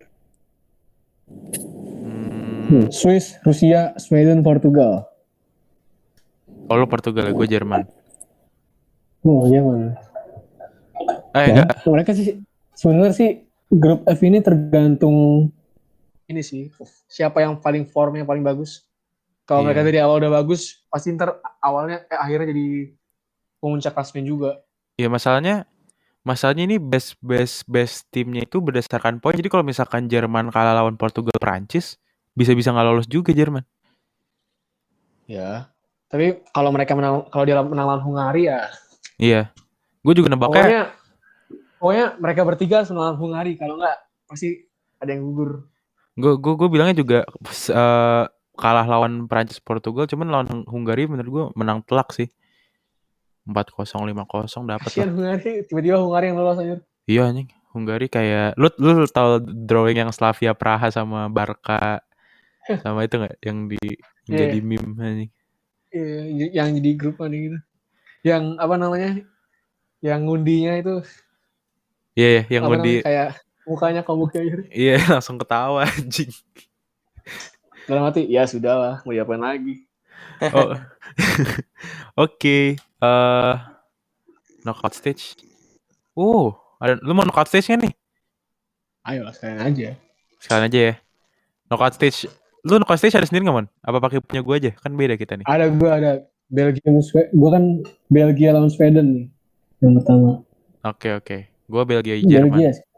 S1: Hmm,
S2: Hmm, Swiss, Rusia, Sweden, Portugal.
S1: oh lu Portugal ya, gue Jerman.
S2: Oh iya mana?
S1: Eh
S2: Ya,
S1: enggak.
S2: mereka sih sebenarnya sih grup F ini tergantung ini sih siapa yang paling formnya paling bagus. Kalau mereka
S1: Iya.
S2: dari awal udah bagus, pasti ntar awalnya eh, akhirnya jadi pemuncak klasemen juga.
S1: Iya masalahnya, masalahnya ini best best best timnya itu berdasarkan poin. Jadi kalau misalkan Jerman kalah lawan Portugal, Prancis, bisa-bisa nggak lolos juga Jerman.
S2: Ya. Tapi kalau mereka menang, kalau dia menang lawan Hungari ya.
S1: Iya. Gue juga nebaknya.
S2: Pokoknya, pokoknya mereka bertiga harus menang lawan Hungari. Kalau nggak, pasti ada yang gugur.
S1: Gue gue gue bilangnya juga uh, kalah lawan Prancis Portugal, cuman lawan Hungari menurut gue menang telak sih. empat kosong lima kosong dapat lah.
S2: Kasian Hungari, tiba-tiba Hungari yang lolos aja.
S1: Iya anjing, Hungari kayak lu lu tahu drawing yang Slavia Praha sama Barca sama itu enggak yang di
S2: Yeah.
S1: jadi meme anjing.
S2: Yeah, yang jadi grup ada gitu. Yang apa namanya? Yang ngundinya itu.
S1: Iya, yeah, yang
S2: apa
S1: ngundi
S2: namanya, kayak mukanya komuk aja.
S1: Iya, langsung ketawa anjing.
S2: Dalam hati, ya sudah lah, mau diapain lagi.
S1: Oh. Oke, okay. uh, knockout stage. Oh, ada lu mau knockout stage kan nih?
S2: Ayo sekalian aja.
S1: Sekalian aja ya. Knockout stage. Lu knockout stage ada sendiri nggak, Mon? Apa pakai punya gue aja? Kan beda kita nih.
S2: Ada gue ada Belgia Sweden. Gue kan Belgia lawan Sweden nih yang pertama.
S1: Oke okay, oke. Okay. Gue Belgia Jerman.
S2: Belgia sih.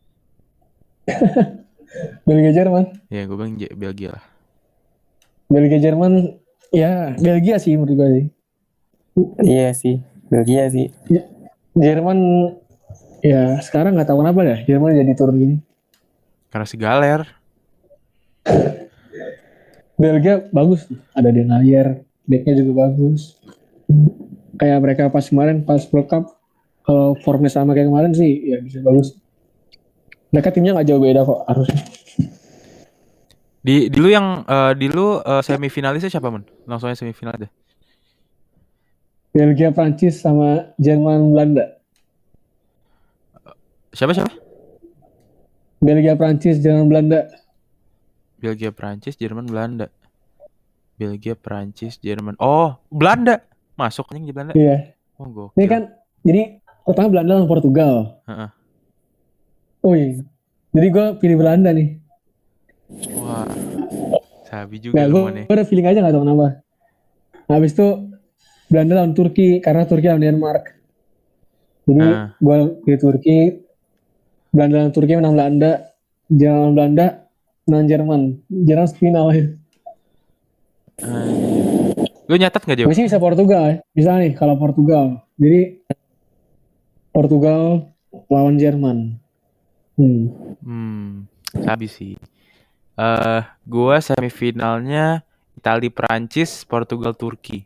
S2: Belgia Jerman.
S1: Ya gue bilang Belgia lah.
S2: Belgia Jerman. Ya Belgia sih menurut gue sih.
S3: Iya sih, Belgia sih.
S2: Jerman ya sekarang nggak tahu kenapa ya Jerman jadi turun gini.
S1: Karena si Galer.
S2: Belgia bagus, ada Den Hayer, backnya juga bagus. Kayak mereka pas kemarin pas World Cup, kalau formnya sama kayak kemarin sih ya bisa bagus. Mereka timnya nggak jauh beda kok harusnya.
S1: Di di lu yang uh, di lu uh, semifinalisnya siapa, Mon? Langsung aja semifinal deh.
S2: Belgia, Prancis sama Jerman, Belanda.
S1: Siapa siapa?
S2: Belgia, Prancis, Jerman, Belanda.
S1: Belgia, Prancis, Jerman, Belanda. Belgia, Prancis, Jerman. Oh, Belanda. Masuk nih di Belanda.
S2: Iya.
S1: Oh, gokil.
S2: Ini kan jadi pertama Belanda lawan Portugal.
S1: Uh-uh.
S2: Oh iya. Jadi gue pilih Belanda nih.
S1: Wah. Sabi juga
S2: nah,
S1: lu nih.
S2: Gue ada feeling aja gak tau kenapa. Nah, habis itu Belanda lawan Turki karena Turki lawan Denmark. Jadi uh. gue pilih Turki. Belanda lawan Turki menang Belanda. Jerman Belanda menang Jerman. Jerman final ya.
S1: Uh. Lu nyatet gak, Jo?
S2: Gue sih bisa Portugal ya. Bisa nih kalau Portugal. Jadi Portugal lawan Jerman. Hmm.
S1: Hmm. Sabi sih. Eh, uh, gue semifinalnya Italia Prancis, Portugal Turki.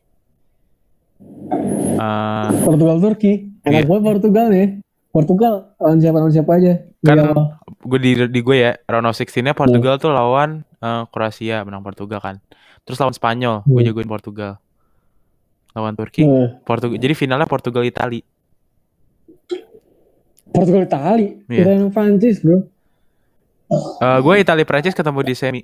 S1: Uh,
S2: Portugal Turki. Enak
S1: iya.
S2: banget Portugal nih. Portugal lawan siapa lawan siapa aja.
S1: Kan gue di di gue ya round of sixteen-nya Portugal hmm. tuh lawan uh, Kroasia, menang Portugal kan. Terus lawan Spanyol, hmm. gue jagoin Portugal. Lawan Turki, hmm. Portugal. Jadi finalnya Portugal Italia.
S2: Portugal Italia, yeah. Kita yang Prancis bro.
S1: Uh, gue Italia Prancis ketemu di semi.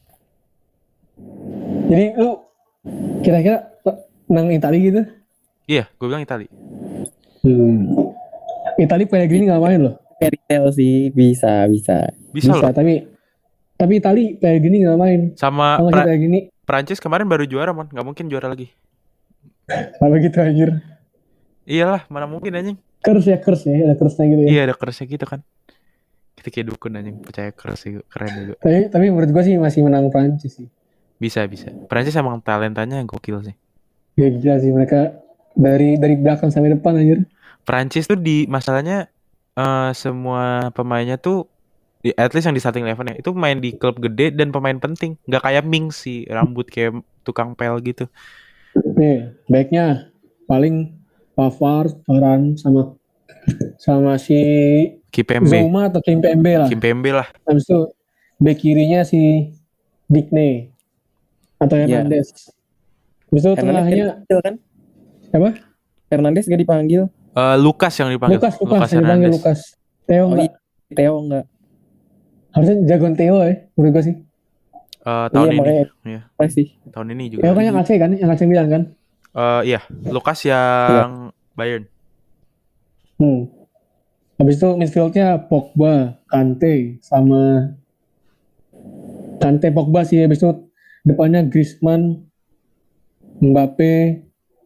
S2: Jadi lu kira-kira menang Italia gitu?
S1: Iya, gue bilang Italia.
S2: Hmm. Italia Pellegrini nggak main loh.
S3: Fairy tale sih bisa bisa.
S1: Bisa,
S2: Bisa
S1: loh.
S2: tapi tapi Italia Pellegrini nggak main.
S1: Sama
S2: Sama
S1: pra-
S2: Pellegrini.
S1: Prancis kemarin baru juara, man. Nggak mungkin juara lagi.
S2: Apa gitu anjir?
S1: Iyalah, mana mungkin anjing.
S2: Kers ya kers ya, ada kersnya gitu ya.
S1: Iya, ada kersnya gitu kan. Kita kayak dukun anjing, percaya kers sih, keren juga.
S2: Tapi tapi menurut gua sih masih menang Prancis sih.
S1: Bisa bisa. Prancis emang talentanya gokil sih.
S2: Ya gila sih mereka dari dari belakang sampai depan anjir.
S1: Prancis tuh di masalahnya uh, semua pemainnya tuh di, at least yang di starting eleven ya itu main di klub gede dan pemain penting. Nggak kayak Mings sih, rambut kayak tukang pel gitu.
S2: Nih, backnya paling Pavard, Varane sama sama si
S1: Kimpembe.
S2: Zouma atau Kimpembe lah.
S1: Kimpembe lah.
S2: Habis itu back kirinya si Digne atau Hernandez. Yeah. Habis itu tengahnya
S3: kan?
S2: Siapa?
S3: Hernandez gak dipanggil.
S1: Uh, Lukas yang dipanggil.
S2: Lukas, Lukas, Lukas yang dipanggil Lukas. Theo
S3: oh,
S2: enggak?
S3: Iya. Theo enggak.
S2: Harusnya jagoan Theo ya, menurut gue sih.
S1: Uh, tahun
S3: iya,
S1: ini.
S3: Iya. Sih.
S1: Tahun ini juga.
S2: Theo kan yang A C kan, yang A C Milan kan?
S1: Uh, iya, Lukas yang yeah. Bayern.
S2: Hmm. Habis itu midfieldnya Pogba, Kante, sama Kante Pogba sih. Habis itu depannya Griezmann, Mbappe,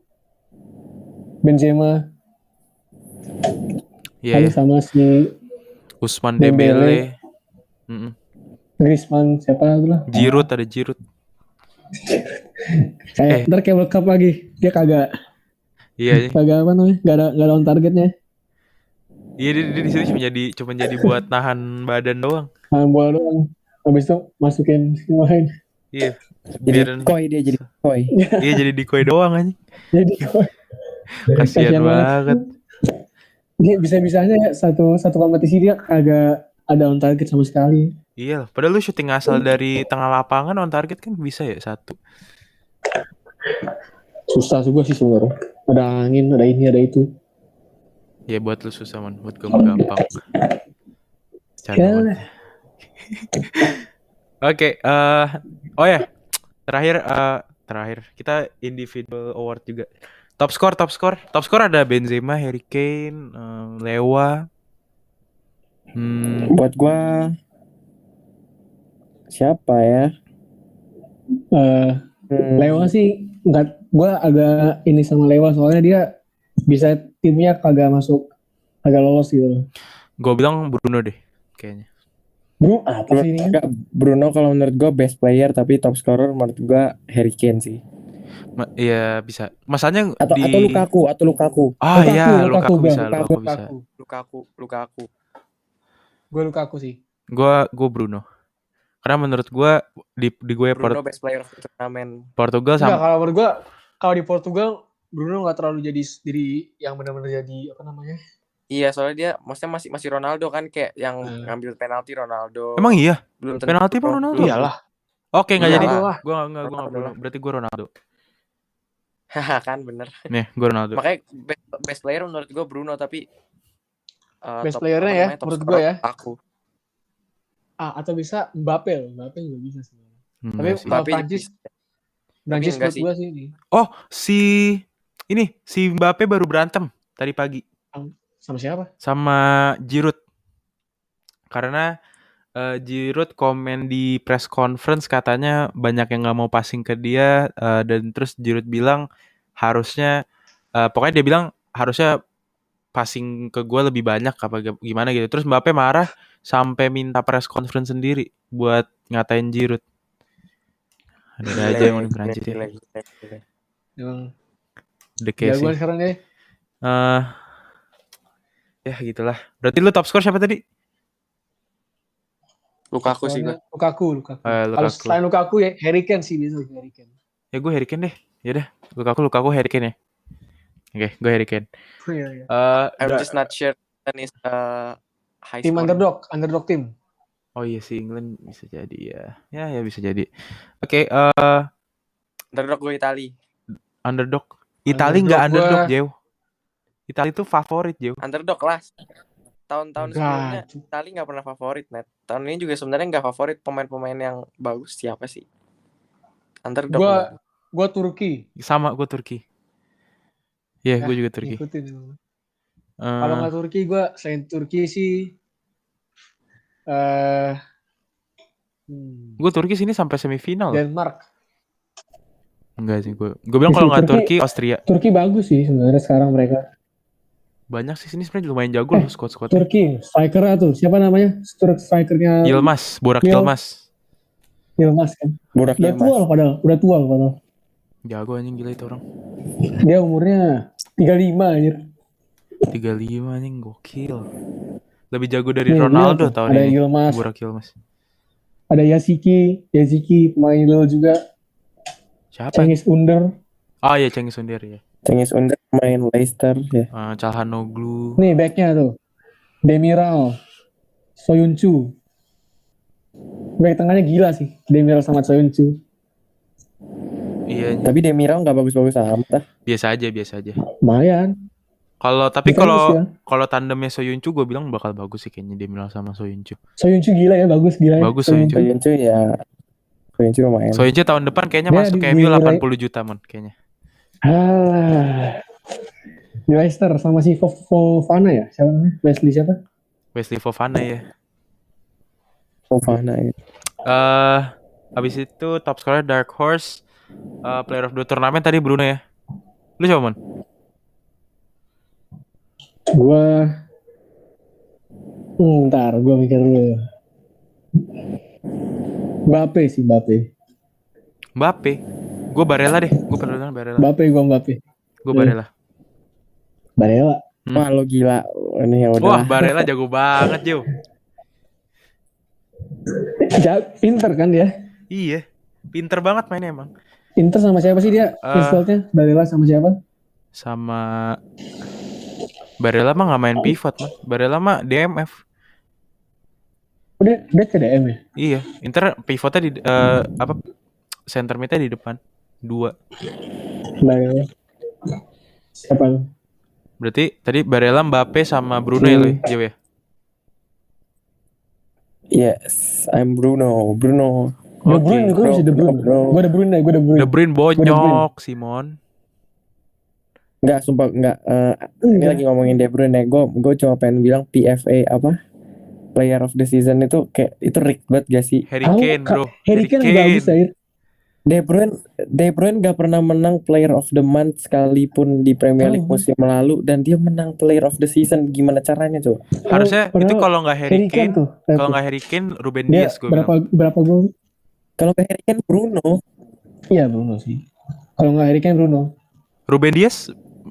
S2: Benzema.
S1: Iya. Yeah,
S2: sama si
S1: Ousmane Dembele.
S2: Dembele. Griezmann siapa lagi lah?
S1: Giroud, ada Giroud.
S2: Kayak eh. ntar kayak World Cup lagi. Dia kagak.
S1: Iya.
S2: Kagak apa namanya? Gak ada gak ada on targetnya.
S1: Iya, dia, dia di sini cuma jadi cuma jadi buat nahan badan doang.
S2: Nahan bola doang. Habis itu masukin main.
S1: Iya.
S3: Jadi decoy dia jadi decoy.
S1: Iya, jadi decoy doang anjing.
S2: Jadi decoy.
S1: Kasian banget.
S2: Dia bisa-bisanya ya satu satu kompetisi dia kagak ada on target sama sekali.
S1: Iya, padahal lu syuting asal dari tengah lapangan on target kan bisa ya satu.
S2: Susah juga sih sebenarnya. Ada angin, ada ini, ada itu.
S1: Ya buat lu susah man, buat gue gampang.
S2: Ya.
S1: Oke, uh, oh ya, terakhir uh, terakhir kita individual award juga. Top score, top score, top score ada Benzema, Harry Kane, uh, Lewa.
S3: Hmm. Buat gua siapa ya?
S2: Uh, hmm. Lewa sih nggak, gua agak ini sama Lewa soalnya dia bisa timnya kagak masuk, kagak lolos gitu.
S1: Gue bilang Bruno deh, kayaknya.
S2: Bruno apa sih ini?
S3: Enggak, Bruno kalau menurut gue best player tapi top scorer menurut gue Harry Kane sih.
S1: Ma- iya bisa. Masalahnya
S3: atau
S1: di...
S3: atau Lukaku atau Lukaku.
S1: Ah
S2: Lukaku,
S1: iya,
S2: Lukaku,
S1: Lukaku,
S2: Lukaku
S1: bisa,
S2: Lukaku,
S1: Lukaku bisa.
S3: Lukaku, Lukaku.
S2: Gue Lukaku sih.
S1: Gue gue Bruno. Karena menurut gue di di gue
S3: Bruno
S1: Port-
S3: best player of the turnamen.
S1: Portugal sama.
S2: Enggak, kalau menurut gue kalau di Portugal Bruno nggak terlalu jadi diri yang benar-benar jadi apa namanya?
S3: Iya, soalnya dia maksudnya masih masih Ronaldo kan, kayak yang hmm. ngambil penalti Ronaldo.
S1: Emang iya?
S3: Belum
S1: penalti pun Ronaldo?
S2: Iyalah.
S1: Oke, enggak jadi.
S2: Gue
S1: gue enggak gue enggak Bruno. Berarti gue Ronaldo.
S3: Haha, kan bener.
S1: Nih, gue Ronaldo.
S3: Makanya best, best player menurut gue Bruno, tapi
S2: uh, best playernya ya menurut gue ya.
S3: Aku.
S2: Ah, atau bisa Mbappe, Mbappe juga bisa sebenarnya.
S1: Hmm,
S2: tapi kalau Prancis Prancis menurut gue sih ini.
S1: Oh, si ini si Mbappe baru berantem tadi pagi.
S2: Sama siapa?
S1: Sama Giroud. Karena uh, Giroud komen di press conference katanya banyak yang nggak mau passing ke dia uh, dan terus Giroud bilang harusnya uh, pokoknya dia bilang harusnya passing ke gue lebih banyak apa gimana gitu. Terus Mbappe marah sampai minta press conference sendiri buat ngatain Giroud. Ada aja yang di Prancis ya.
S2: Emang
S1: The case.
S2: Jagoan sekarang deh.
S1: Uh, ya gitulah. Berarti lu top score siapa tadi?
S3: Lukaku sih gue.
S2: Lukaku, Lukaku.
S1: Uh,
S2: Kalau selain Lukaku ya Harry Kane sih biasa Harry Kane.
S1: Ya gue Harry Kane deh. Ya udah, Lukaku Lukaku Harry Kane ya. Oke, okay, gue Harry Kane.
S2: Oh, iya, iya.
S3: Uh, I'm just not sure and is uh, high
S2: tim underdog, underdog tim.
S1: Oh iya sih England bisa jadi ya. Ya ya bisa jadi. Oke, okay, uh,
S3: underdog gue Itali.
S1: Underdog. Itali enggak underdog, Jew. Itali itu favorit, Jew.
S3: Underdog lah. tahun-tahun
S2: Enggak.
S3: sebelumnya Itali nggak pernah favorit, net. Tahun ini juga sebenarnya nggak favorit pemain-pemain yang bagus siapa sih? Underdog.
S2: Gua
S3: lah.
S2: gua Turki.
S1: Sama gue Turki. Iya, yeah,
S2: Ya,
S1: gue juga Turki.
S2: Ngikutin emang.
S1: Uh,
S2: Kalau nggak Turki, gue selain Turki sih, eh, hmm,
S1: gue Turki sini sampai semifinal.
S2: Denmark.
S1: Enggak sih gue. Gue bilang kalau nggak Turki, Austria.
S2: Turki bagus sih sebenarnya sekarang mereka.
S1: Banyak sih sini sebenarnya lumayan jago
S2: Eh,
S1: loh squad-squad.
S2: Turki, strikernya tuh siapa namanya? Strikernya
S1: Yilmaz, Burak
S2: Yil-
S1: Yilmaz.
S2: Yilmaz kan.
S3: Burak
S2: Udah tua loh padahal, udah tua loh padahal.
S1: Jago anjing gila itu orang.
S2: Dia umurnya tiga puluh lima anjir.
S1: tiga puluh lima anjing gokil. Lebih jago dari
S2: Nih,
S1: Ronaldo
S2: lihat,
S1: tahun
S2: ada
S1: ini.
S2: Yilmaz.
S1: Burak Yilmaz.
S2: Ada Yasiki, Yasiki pemain Lille juga.
S1: Siapa?
S2: Cengiz Under.
S1: Oh iya Cengiz Under ya.
S3: Cengiz Under main Leicester ya.
S1: Uh, Calhanoglu.
S2: Nih backnya tuh. Demiral, Soyuncu. Back tengahnya gila sih, Demiral sama Soyuncu.
S1: Iya.
S3: Tapi Demiral nggak bagus-bagus amat ah.
S1: Biasa aja, biasa aja.
S2: Lumayan.
S1: Kalau tapi
S2: Defense
S1: kalau
S2: ya.
S1: kalau tandemnya Soyuncu gue bilang bakal bagus sih kayaknya Demiral sama Soyuncu.
S2: Soyuncu gila ya, bagus gila ya.
S1: Bagus Soyuncu.
S3: Soyuncu ya. Soyuncu main.
S1: Soyuncu tahun depan kayaknya
S2: Dia
S1: masuk
S2: di-
S1: ke M U
S2: di-
S1: delapan puluh juta mon kayaknya.
S2: Ah. Di Leicester sama si Fo- Fofana ya, siapa namanya? Wesley siapa?
S1: Wesley Fofana ya.
S3: Fofana ya.
S1: Eh habis itu top scorer Dark Horse, eh, player of the tournament tadi Bruno ya. Lu siapa mon?
S2: Gua hmm, ntar gua mikir dulu. Mbappe sih, Mbappe.
S1: Mbappe. Gue Barella deh. Gue Barella Barella.
S2: Mbappe gua Mbappe.
S1: Gue Barella.
S2: Barella.
S1: Hmm.
S3: Wah lo gila. Ini ya udah.
S1: Wah Barella jago banget Jo.
S2: Ja- pinter kan dia?
S1: Iya. Pinter banget mainnya emang.
S2: Inter sama siapa sih dia?
S1: Eh.
S2: Midfieldnya Barella sama siapa?
S1: Sama Barella mah nggak main pivot man. Barella mah D M F.
S2: Oh, dia dia ke D M ya?
S1: Iya. Inter pivotnya di eh, apa? Center midnya di depan. Dua.
S2: Barella. Siapa?
S1: Berarti tadi Barella, Mbappe sama Bruno ya,
S2: Hmm.
S1: lo ya? ya?
S3: Yes, I'm Bruno. Bruno.
S2: De
S1: Oke.
S2: Bruyne, gue masih De Bruyne.
S3: Bro.
S2: Gue De Bruyne, gue De Bruyne.
S1: De Bruyne
S2: Gua De
S1: bonyok, Simon.
S3: Enggak, sumpah enggak. eh, ini
S2: Enggak.
S3: lagi ngomongin De Bruyne. Gue gue cuma pengen bilang P F A apa? Player of the season itu kayak itu rigged banget gak sih?
S1: Harry
S2: Tahu,
S1: Kane,
S2: Kak,
S1: bro.
S2: Harry Kane bagus ya.
S3: De Bruyne De Bruyne gak pernah menang Player of the Month sekalipun di Premier League
S2: Tahu.
S3: musim lalu dan dia menang Player of the Season. Gimana caranya coba?
S1: Harusnya
S2: Padahal
S1: itu kalau nggak Harry
S2: Harry Kane
S1: Kane,
S2: tuh.
S1: kalau nggak Harry Kane, Ruben
S2: dia
S1: Dias gue
S2: berapa
S1: bilang.
S2: berapa gol?
S3: Kalau ke Harry Kane Bruno.
S2: Iya Bruno sih. Kalau nggak Harry Kane Bruno.
S1: Ruben Dias,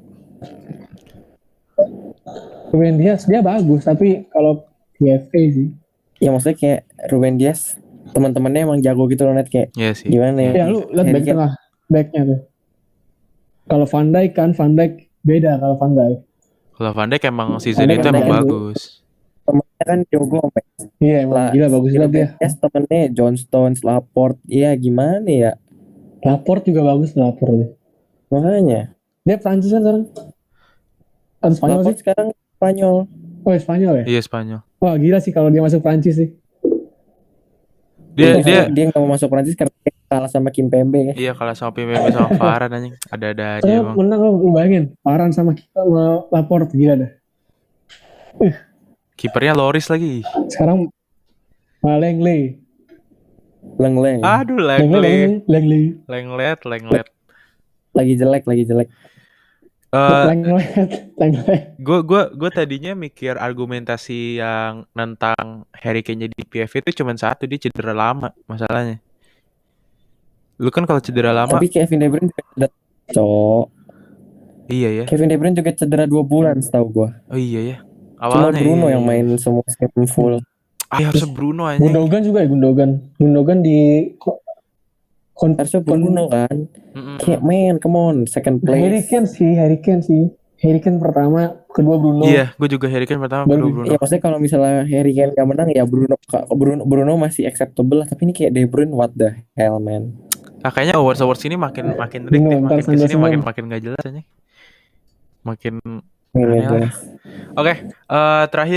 S2: Ruben Dias dia bagus tapi kalau P F A sih.
S3: Ya maksudnya kayak Ruben Dias teman-temannya emang jago gitu loh net kayak
S1: ya sih.
S3: gimana ya?
S2: Ya lu lihat
S3: Harry
S2: back
S3: Kane-
S2: tengah, backnya tuh. Kalau Van Dijk kan Van Dijk beda kalau Van Dijk.
S1: Kalau Van Dijk emang season
S2: Van Dijk
S1: itu
S2: kan
S1: emang
S2: jago.
S1: bagus.
S3: Temennya kan Joe Gomez
S2: Iya emang
S3: lah.
S2: gila bagus banget dia.
S3: Yes, temennya John Stones, Laporte. Iya gimana ya?
S2: Laporte juga bagus Laporte dia.
S3: Makanya
S2: Dia Prancis kan sekarang. Atau Spanyol sih?
S3: Laporte sekarang Spanyol.
S2: Oh Spanyol ya?
S1: Iya Spanyol.
S2: Wah gila sih kalau dia masuk Prancis sih.
S1: Dia
S3: Terus
S1: dia
S3: dia nggak mau masuk Prancis karena dia kalah sama Kim Pembe ya.
S1: iya kalah sama P M B sama Varane anjing. Ada-ada aja
S2: Saya
S1: emang.
S2: menang lo, lu bayangin. Varane sama kita sama Laporte gila dah.
S1: Kipernya Loris lagi.
S2: Sekarang Langley.
S3: Lengleng.
S1: Aduh,
S2: Langley,
S1: Langley.
S2: Langley.
S1: Lenglet, Lenglet.
S3: Lagi jelek, lagi jelek.
S1: Eh,
S2: Langley. Langley.
S1: gue gue gue tadinya mikir argumentasi yang nentang Harry Kane di P F itu cuma satu, dia cedera lama masalahnya. Lu kan kalau cedera lama,
S3: Tapi Kevin De Bruyne juga cedera. Cok.
S1: iya ya.
S3: Kevin De Bruyne juga cedera dua bulan setahu gua.
S1: Oh iya ya.
S3: Cuma
S1: Awalnya
S3: Bruno
S1: iya,
S3: yang
S1: iya.
S3: main semua game full.
S1: Ah, harusnya Bruno anjing.
S2: Gundogan juga ya Gundogan. Gundogan di ko- kon-
S3: Harusnya
S2: kon-
S3: Bruno kan.
S1: Mm-mm.
S3: Kayak man, come on, second
S2: Harry
S3: place.
S2: Kane sih, Harry Kane sih. Harry Kane pertama, kedua Bruno.
S1: Iya, gue juga Harry Kane pertama,
S2: Baru-
S1: kedua Bruno.
S3: Ya maksudnya kalau misalnya Harry Kane gak menang ya Bruno Bruno Bruno masih acceptable lah, tapi ini kayak De Bruyne what the hell man.
S1: Ah, kayaknya awards awards ini makin makin rik
S2: Bruno,
S1: nih,
S2: ntar
S1: makin kesini
S2: Sancho
S1: makin
S2: semua.
S1: makin gak jelas anjing. Makin
S3: Ini
S1: Aneh
S3: aja.
S1: lah. Oke, eh, terakhir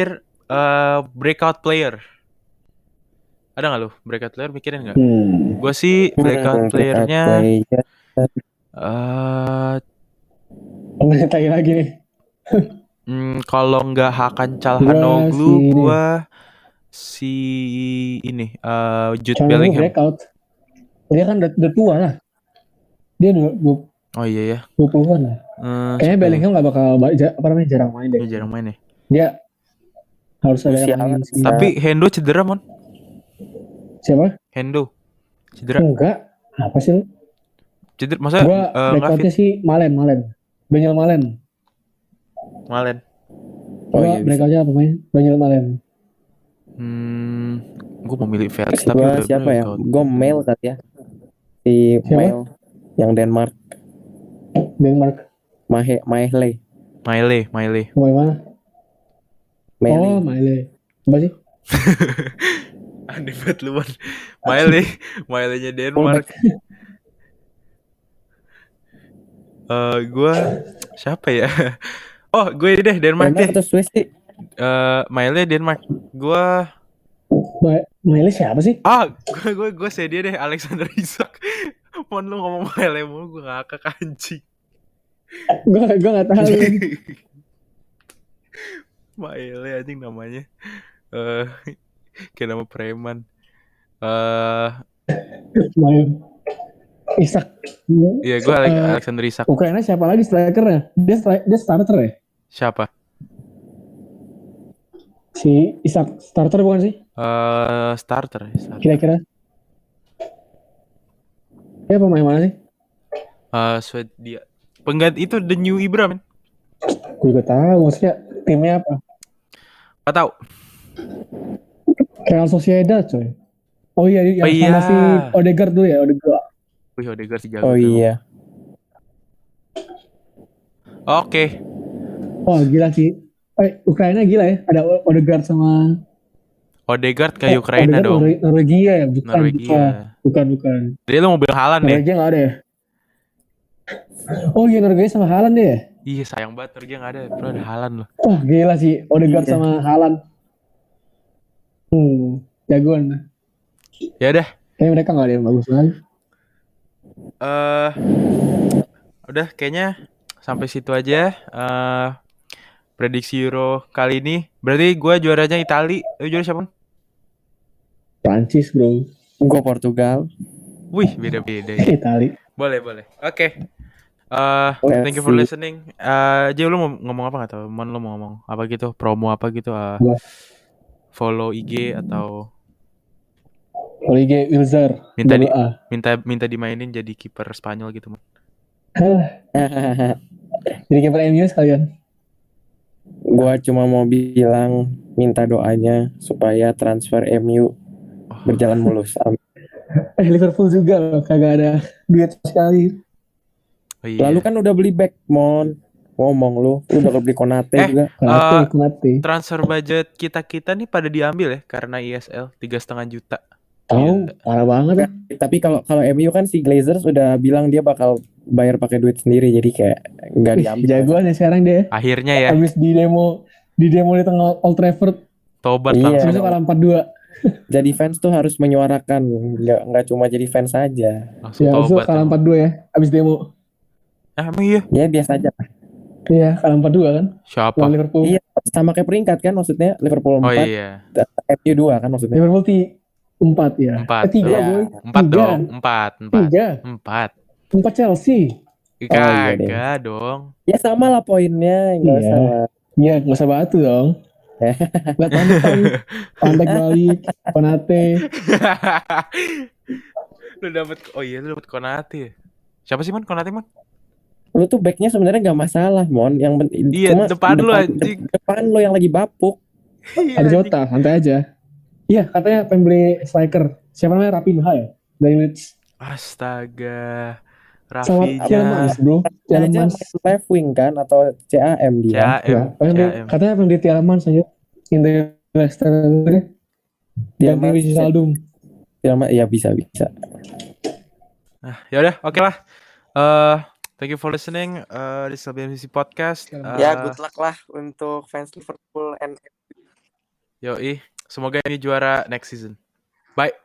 S1: uh, breakout player. Ada nggak lu breakout player mikirin nggak?
S2: Hmm.
S1: Gue sih breakout
S3: Hmm,
S1: playernya
S3: player.
S1: uh,
S2: Pemain lagi lagi nih.
S1: hmm, kalau nggak Hakan
S2: Gua
S1: Calhanoglu,
S2: si ini.
S1: gue si ini uh, Jude
S2: Calhanoglu
S1: Bellingham.
S2: breakout. Dia kan udah, udah tua lah. Dia dua, dua,
S1: Oh iya ya.
S2: dua puluhan lah.
S1: Uh,
S2: Kayaknya
S1: siapa ya?
S2: Bellingham gak bakal ba- ja- apa namanya jarang main deh.
S1: Dia jarang main ya.
S2: Dia harus ada yang
S3: Usia
S2: mainin
S3: kan
S2: sih.
S3: bisa.
S1: Tapi Hendo cedera mon.
S2: Siapa?
S1: Hendo cedera.
S2: Enggak. Apa sih lu?
S1: Cedera masa
S2: Gua
S1: uh, nggak
S2: breakoutnya
S1: fit?
S2: sih Malen, Malen. Daniel Malen.
S1: Malen.
S3: Oh
S2: Gua
S3: iya bisa.
S2: breakoutnya pemain Daniel Malen.
S1: Hmm, gue mau milih Felix
S3: Terus
S1: tapi
S3: gua
S1: udah
S3: siapa ya?
S1: breakout.
S3: Gue Mail kali ya. Si
S2: Siapa?
S3: Mail yang Denmark.
S2: Denmark.
S3: Mahe Mahle.
S1: Maile, Maile.
S2: Pemain mana?
S3: Mele.
S2: Oh, Male. Apa sih?
S1: Aneh banget lu Mon. Maile, Mailenya Denmark. Eh, gue siapa ya? Oh, gue deh Denmark
S3: Denmark
S1: deh.
S3: atau Swiss sih?
S1: Eh, Maile Denmark. Gue
S2: Ma- Male siapa sih?
S1: ah, gue gue gue sedia deh Alexander Isak. Mon lu ngomong Maile mulu gue ngakak anjing.
S2: Gua gua enggak tahu.
S1: Maile anjing namanya. Eh, kayak nama preman. Eh,
S2: Male. Isak.
S1: iya gue Ale-
S2: Eh,
S1: Alexander Isak.
S2: Ukraina siapa lagi strikernya? Dia stri- dia starter ya?
S1: Siapa?
S2: Si Isak starter bukan sih?
S1: Eh, starter, ya, starter.
S2: Kira-kira. Dia pemain mana sih?
S1: Eh, Swedia. Pengganti itu The New Ibra men.
S2: Gue juga tahu. Maksudnya timnya apa?
S1: Gak tau.
S2: Real Sociedad coy. Oh iya, yang
S1: Oh iya.
S2: sama si Odegaard dulu ya, Odegaard.
S1: Wih, Odegaard si jago.
S3: Oh
S1: tuh.
S3: iya.
S1: Oke.
S2: Wah gila sih. Eh, Ukraina gila ya. Ada O- Odegaard sama
S1: Odegaard ke
S2: eh,
S1: Ukraina
S2: Odegaard
S1: dong.
S2: Norwe- Norwegia ya, bukan.
S1: Norwegia.
S2: Bukan, bukan. bukan.
S1: Jadi lu mau bilang Haaland ya?
S2: Norwegia nggak ada ya? Oh iya, Norwegia sama Haaland deh ya?
S1: Iya sayang banget Norwegia gak ada. Bro ada Haaland loh.
S2: Wah gila sih, Odegaard
S3: Iya.
S2: sama Haaland. Hmm, jagoan.
S1: Ya udah.
S2: Kayaknya mereka nggak ada yang bagus lagi.
S1: Eh, udah kayaknya sampai situ aja. Eh, prediksi Euro kali ini. Berarti gue juaranya Itali. Lu juara siapa?
S2: Prancis bro.
S3: Gue Portugal.
S1: Wih beda-beda ya.
S2: Itali.
S1: Boleh boleh. Oke. Eh,
S3: Let's
S1: thank you for
S3: see.
S1: listening. Eh, Jay lu mau ngomong apa nggak tau? Mon lu mau ngomong apa gitu? Promo apa gitu? Eh,
S2: Apa?
S1: follow I G atau
S2: Olivier Wilzer.
S1: minta di,
S2: double A.
S1: minta minta dimainin jadi kiper Spanyol gitu Mon.
S2: Jadi kiper M U sekalian.
S3: Gua cuma mau bilang minta doanya supaya transfer M U
S1: Oh,
S3: berjalan mulus. Amin.
S2: Eh Liverpool juga loh, kagak ada duit sekali.
S1: oh iya.
S3: Lalu kan udah beli back, Mon. Ngomong lu, lu udah beli Konate
S1: Eh,
S3: juga.
S2: Konate,
S1: Eh,
S2: Konate.
S1: transfer budget kita-kita nih pada diambil ya karena I S L tiga setengah juta.
S2: Tahu, parah banget ya.
S3: Tapi kalau kalau M U kan si Glazers udah bilang dia bakal bayar pakai duit sendiri, jadi kayak nggak
S2: Wih,
S3: diambil.
S2: jagoan ya sekarang dia.
S1: Akhirnya ya
S2: Habis di demo di demo di tengah Old Trafford,
S1: tobat
S3: Iya.
S1: langsung.
S2: terus kalah empat dua.
S3: Jadi fans tuh harus menyuarakan, nggak nggak cuma jadi fans aja.
S1: Langsung
S2: Ya, habis itu
S1: tobat.
S2: kalah
S1: emang.
S2: empat dua ya. Habis demo.
S1: Ah, emang iya.
S3: Ya biasa aja.
S2: Iya, kalah empat dua kan.
S1: Siapa?
S2: Lawan Liverpool.
S3: Iya, sama kayak peringkat kan maksudnya Liverpool
S1: Oh
S3: empat,
S1: iya.
S3: M U dua kan maksudnya.
S2: Liverpool ti empat ya.
S1: Empat.
S2: Eh, tiga,
S3: Iya.
S2: boy.
S1: Empat
S2: Tiga.
S1: dong. Empat. Empat.
S2: Tiga.
S1: Empat.
S2: Empat Chelsea.
S3: iya deh.
S1: Kagak dong.
S3: Ya sama lah poinnya, nggak
S2: Iya.
S3: usah lah.
S2: Iya, nggak usah batu dong. Lihat pantai, pantai balik, Konate.
S1: Lu dapet oh iya lu dapet Konate ya? Siapa sih Mon? Konate Mon?
S3: Lu tuh backnya sebenarnya nggak masalah, Mon. Yang penting
S1: Iya,
S3: cuma
S1: depan lu, anjing.
S3: de- depan lu yang lagi bapuk.
S1: Iya,
S2: Ada
S1: anjing.
S2: Jota, santai aja. Iya, katanya pengen beli striker. Siapa namanya? Rapinha ya? Dari Leeds.
S1: Astaga.
S2: Sama
S1: Rafinya.
S2: Tielemans, bro.
S3: Dia aja
S2: Tielemans.
S3: main left wing kan atau C A M dia.
S1: C A M.
S2: Ya, pengen beli,
S1: C A M.
S2: katanya pengen beli Tielemans aja. Inter Leicester deh. Ganti
S3: Tielemans-
S2: Wijnaldum.
S3: Tielemans- ya bisa bisa.
S1: Nah, ya udah, oke lah. Eh, thank you for listening. Eh, this is L B M C Podcast. Eh,
S3: Ya good luck lah untuk fans Liverpool and
S1: Yoi, semoga ini juara next season. Bye.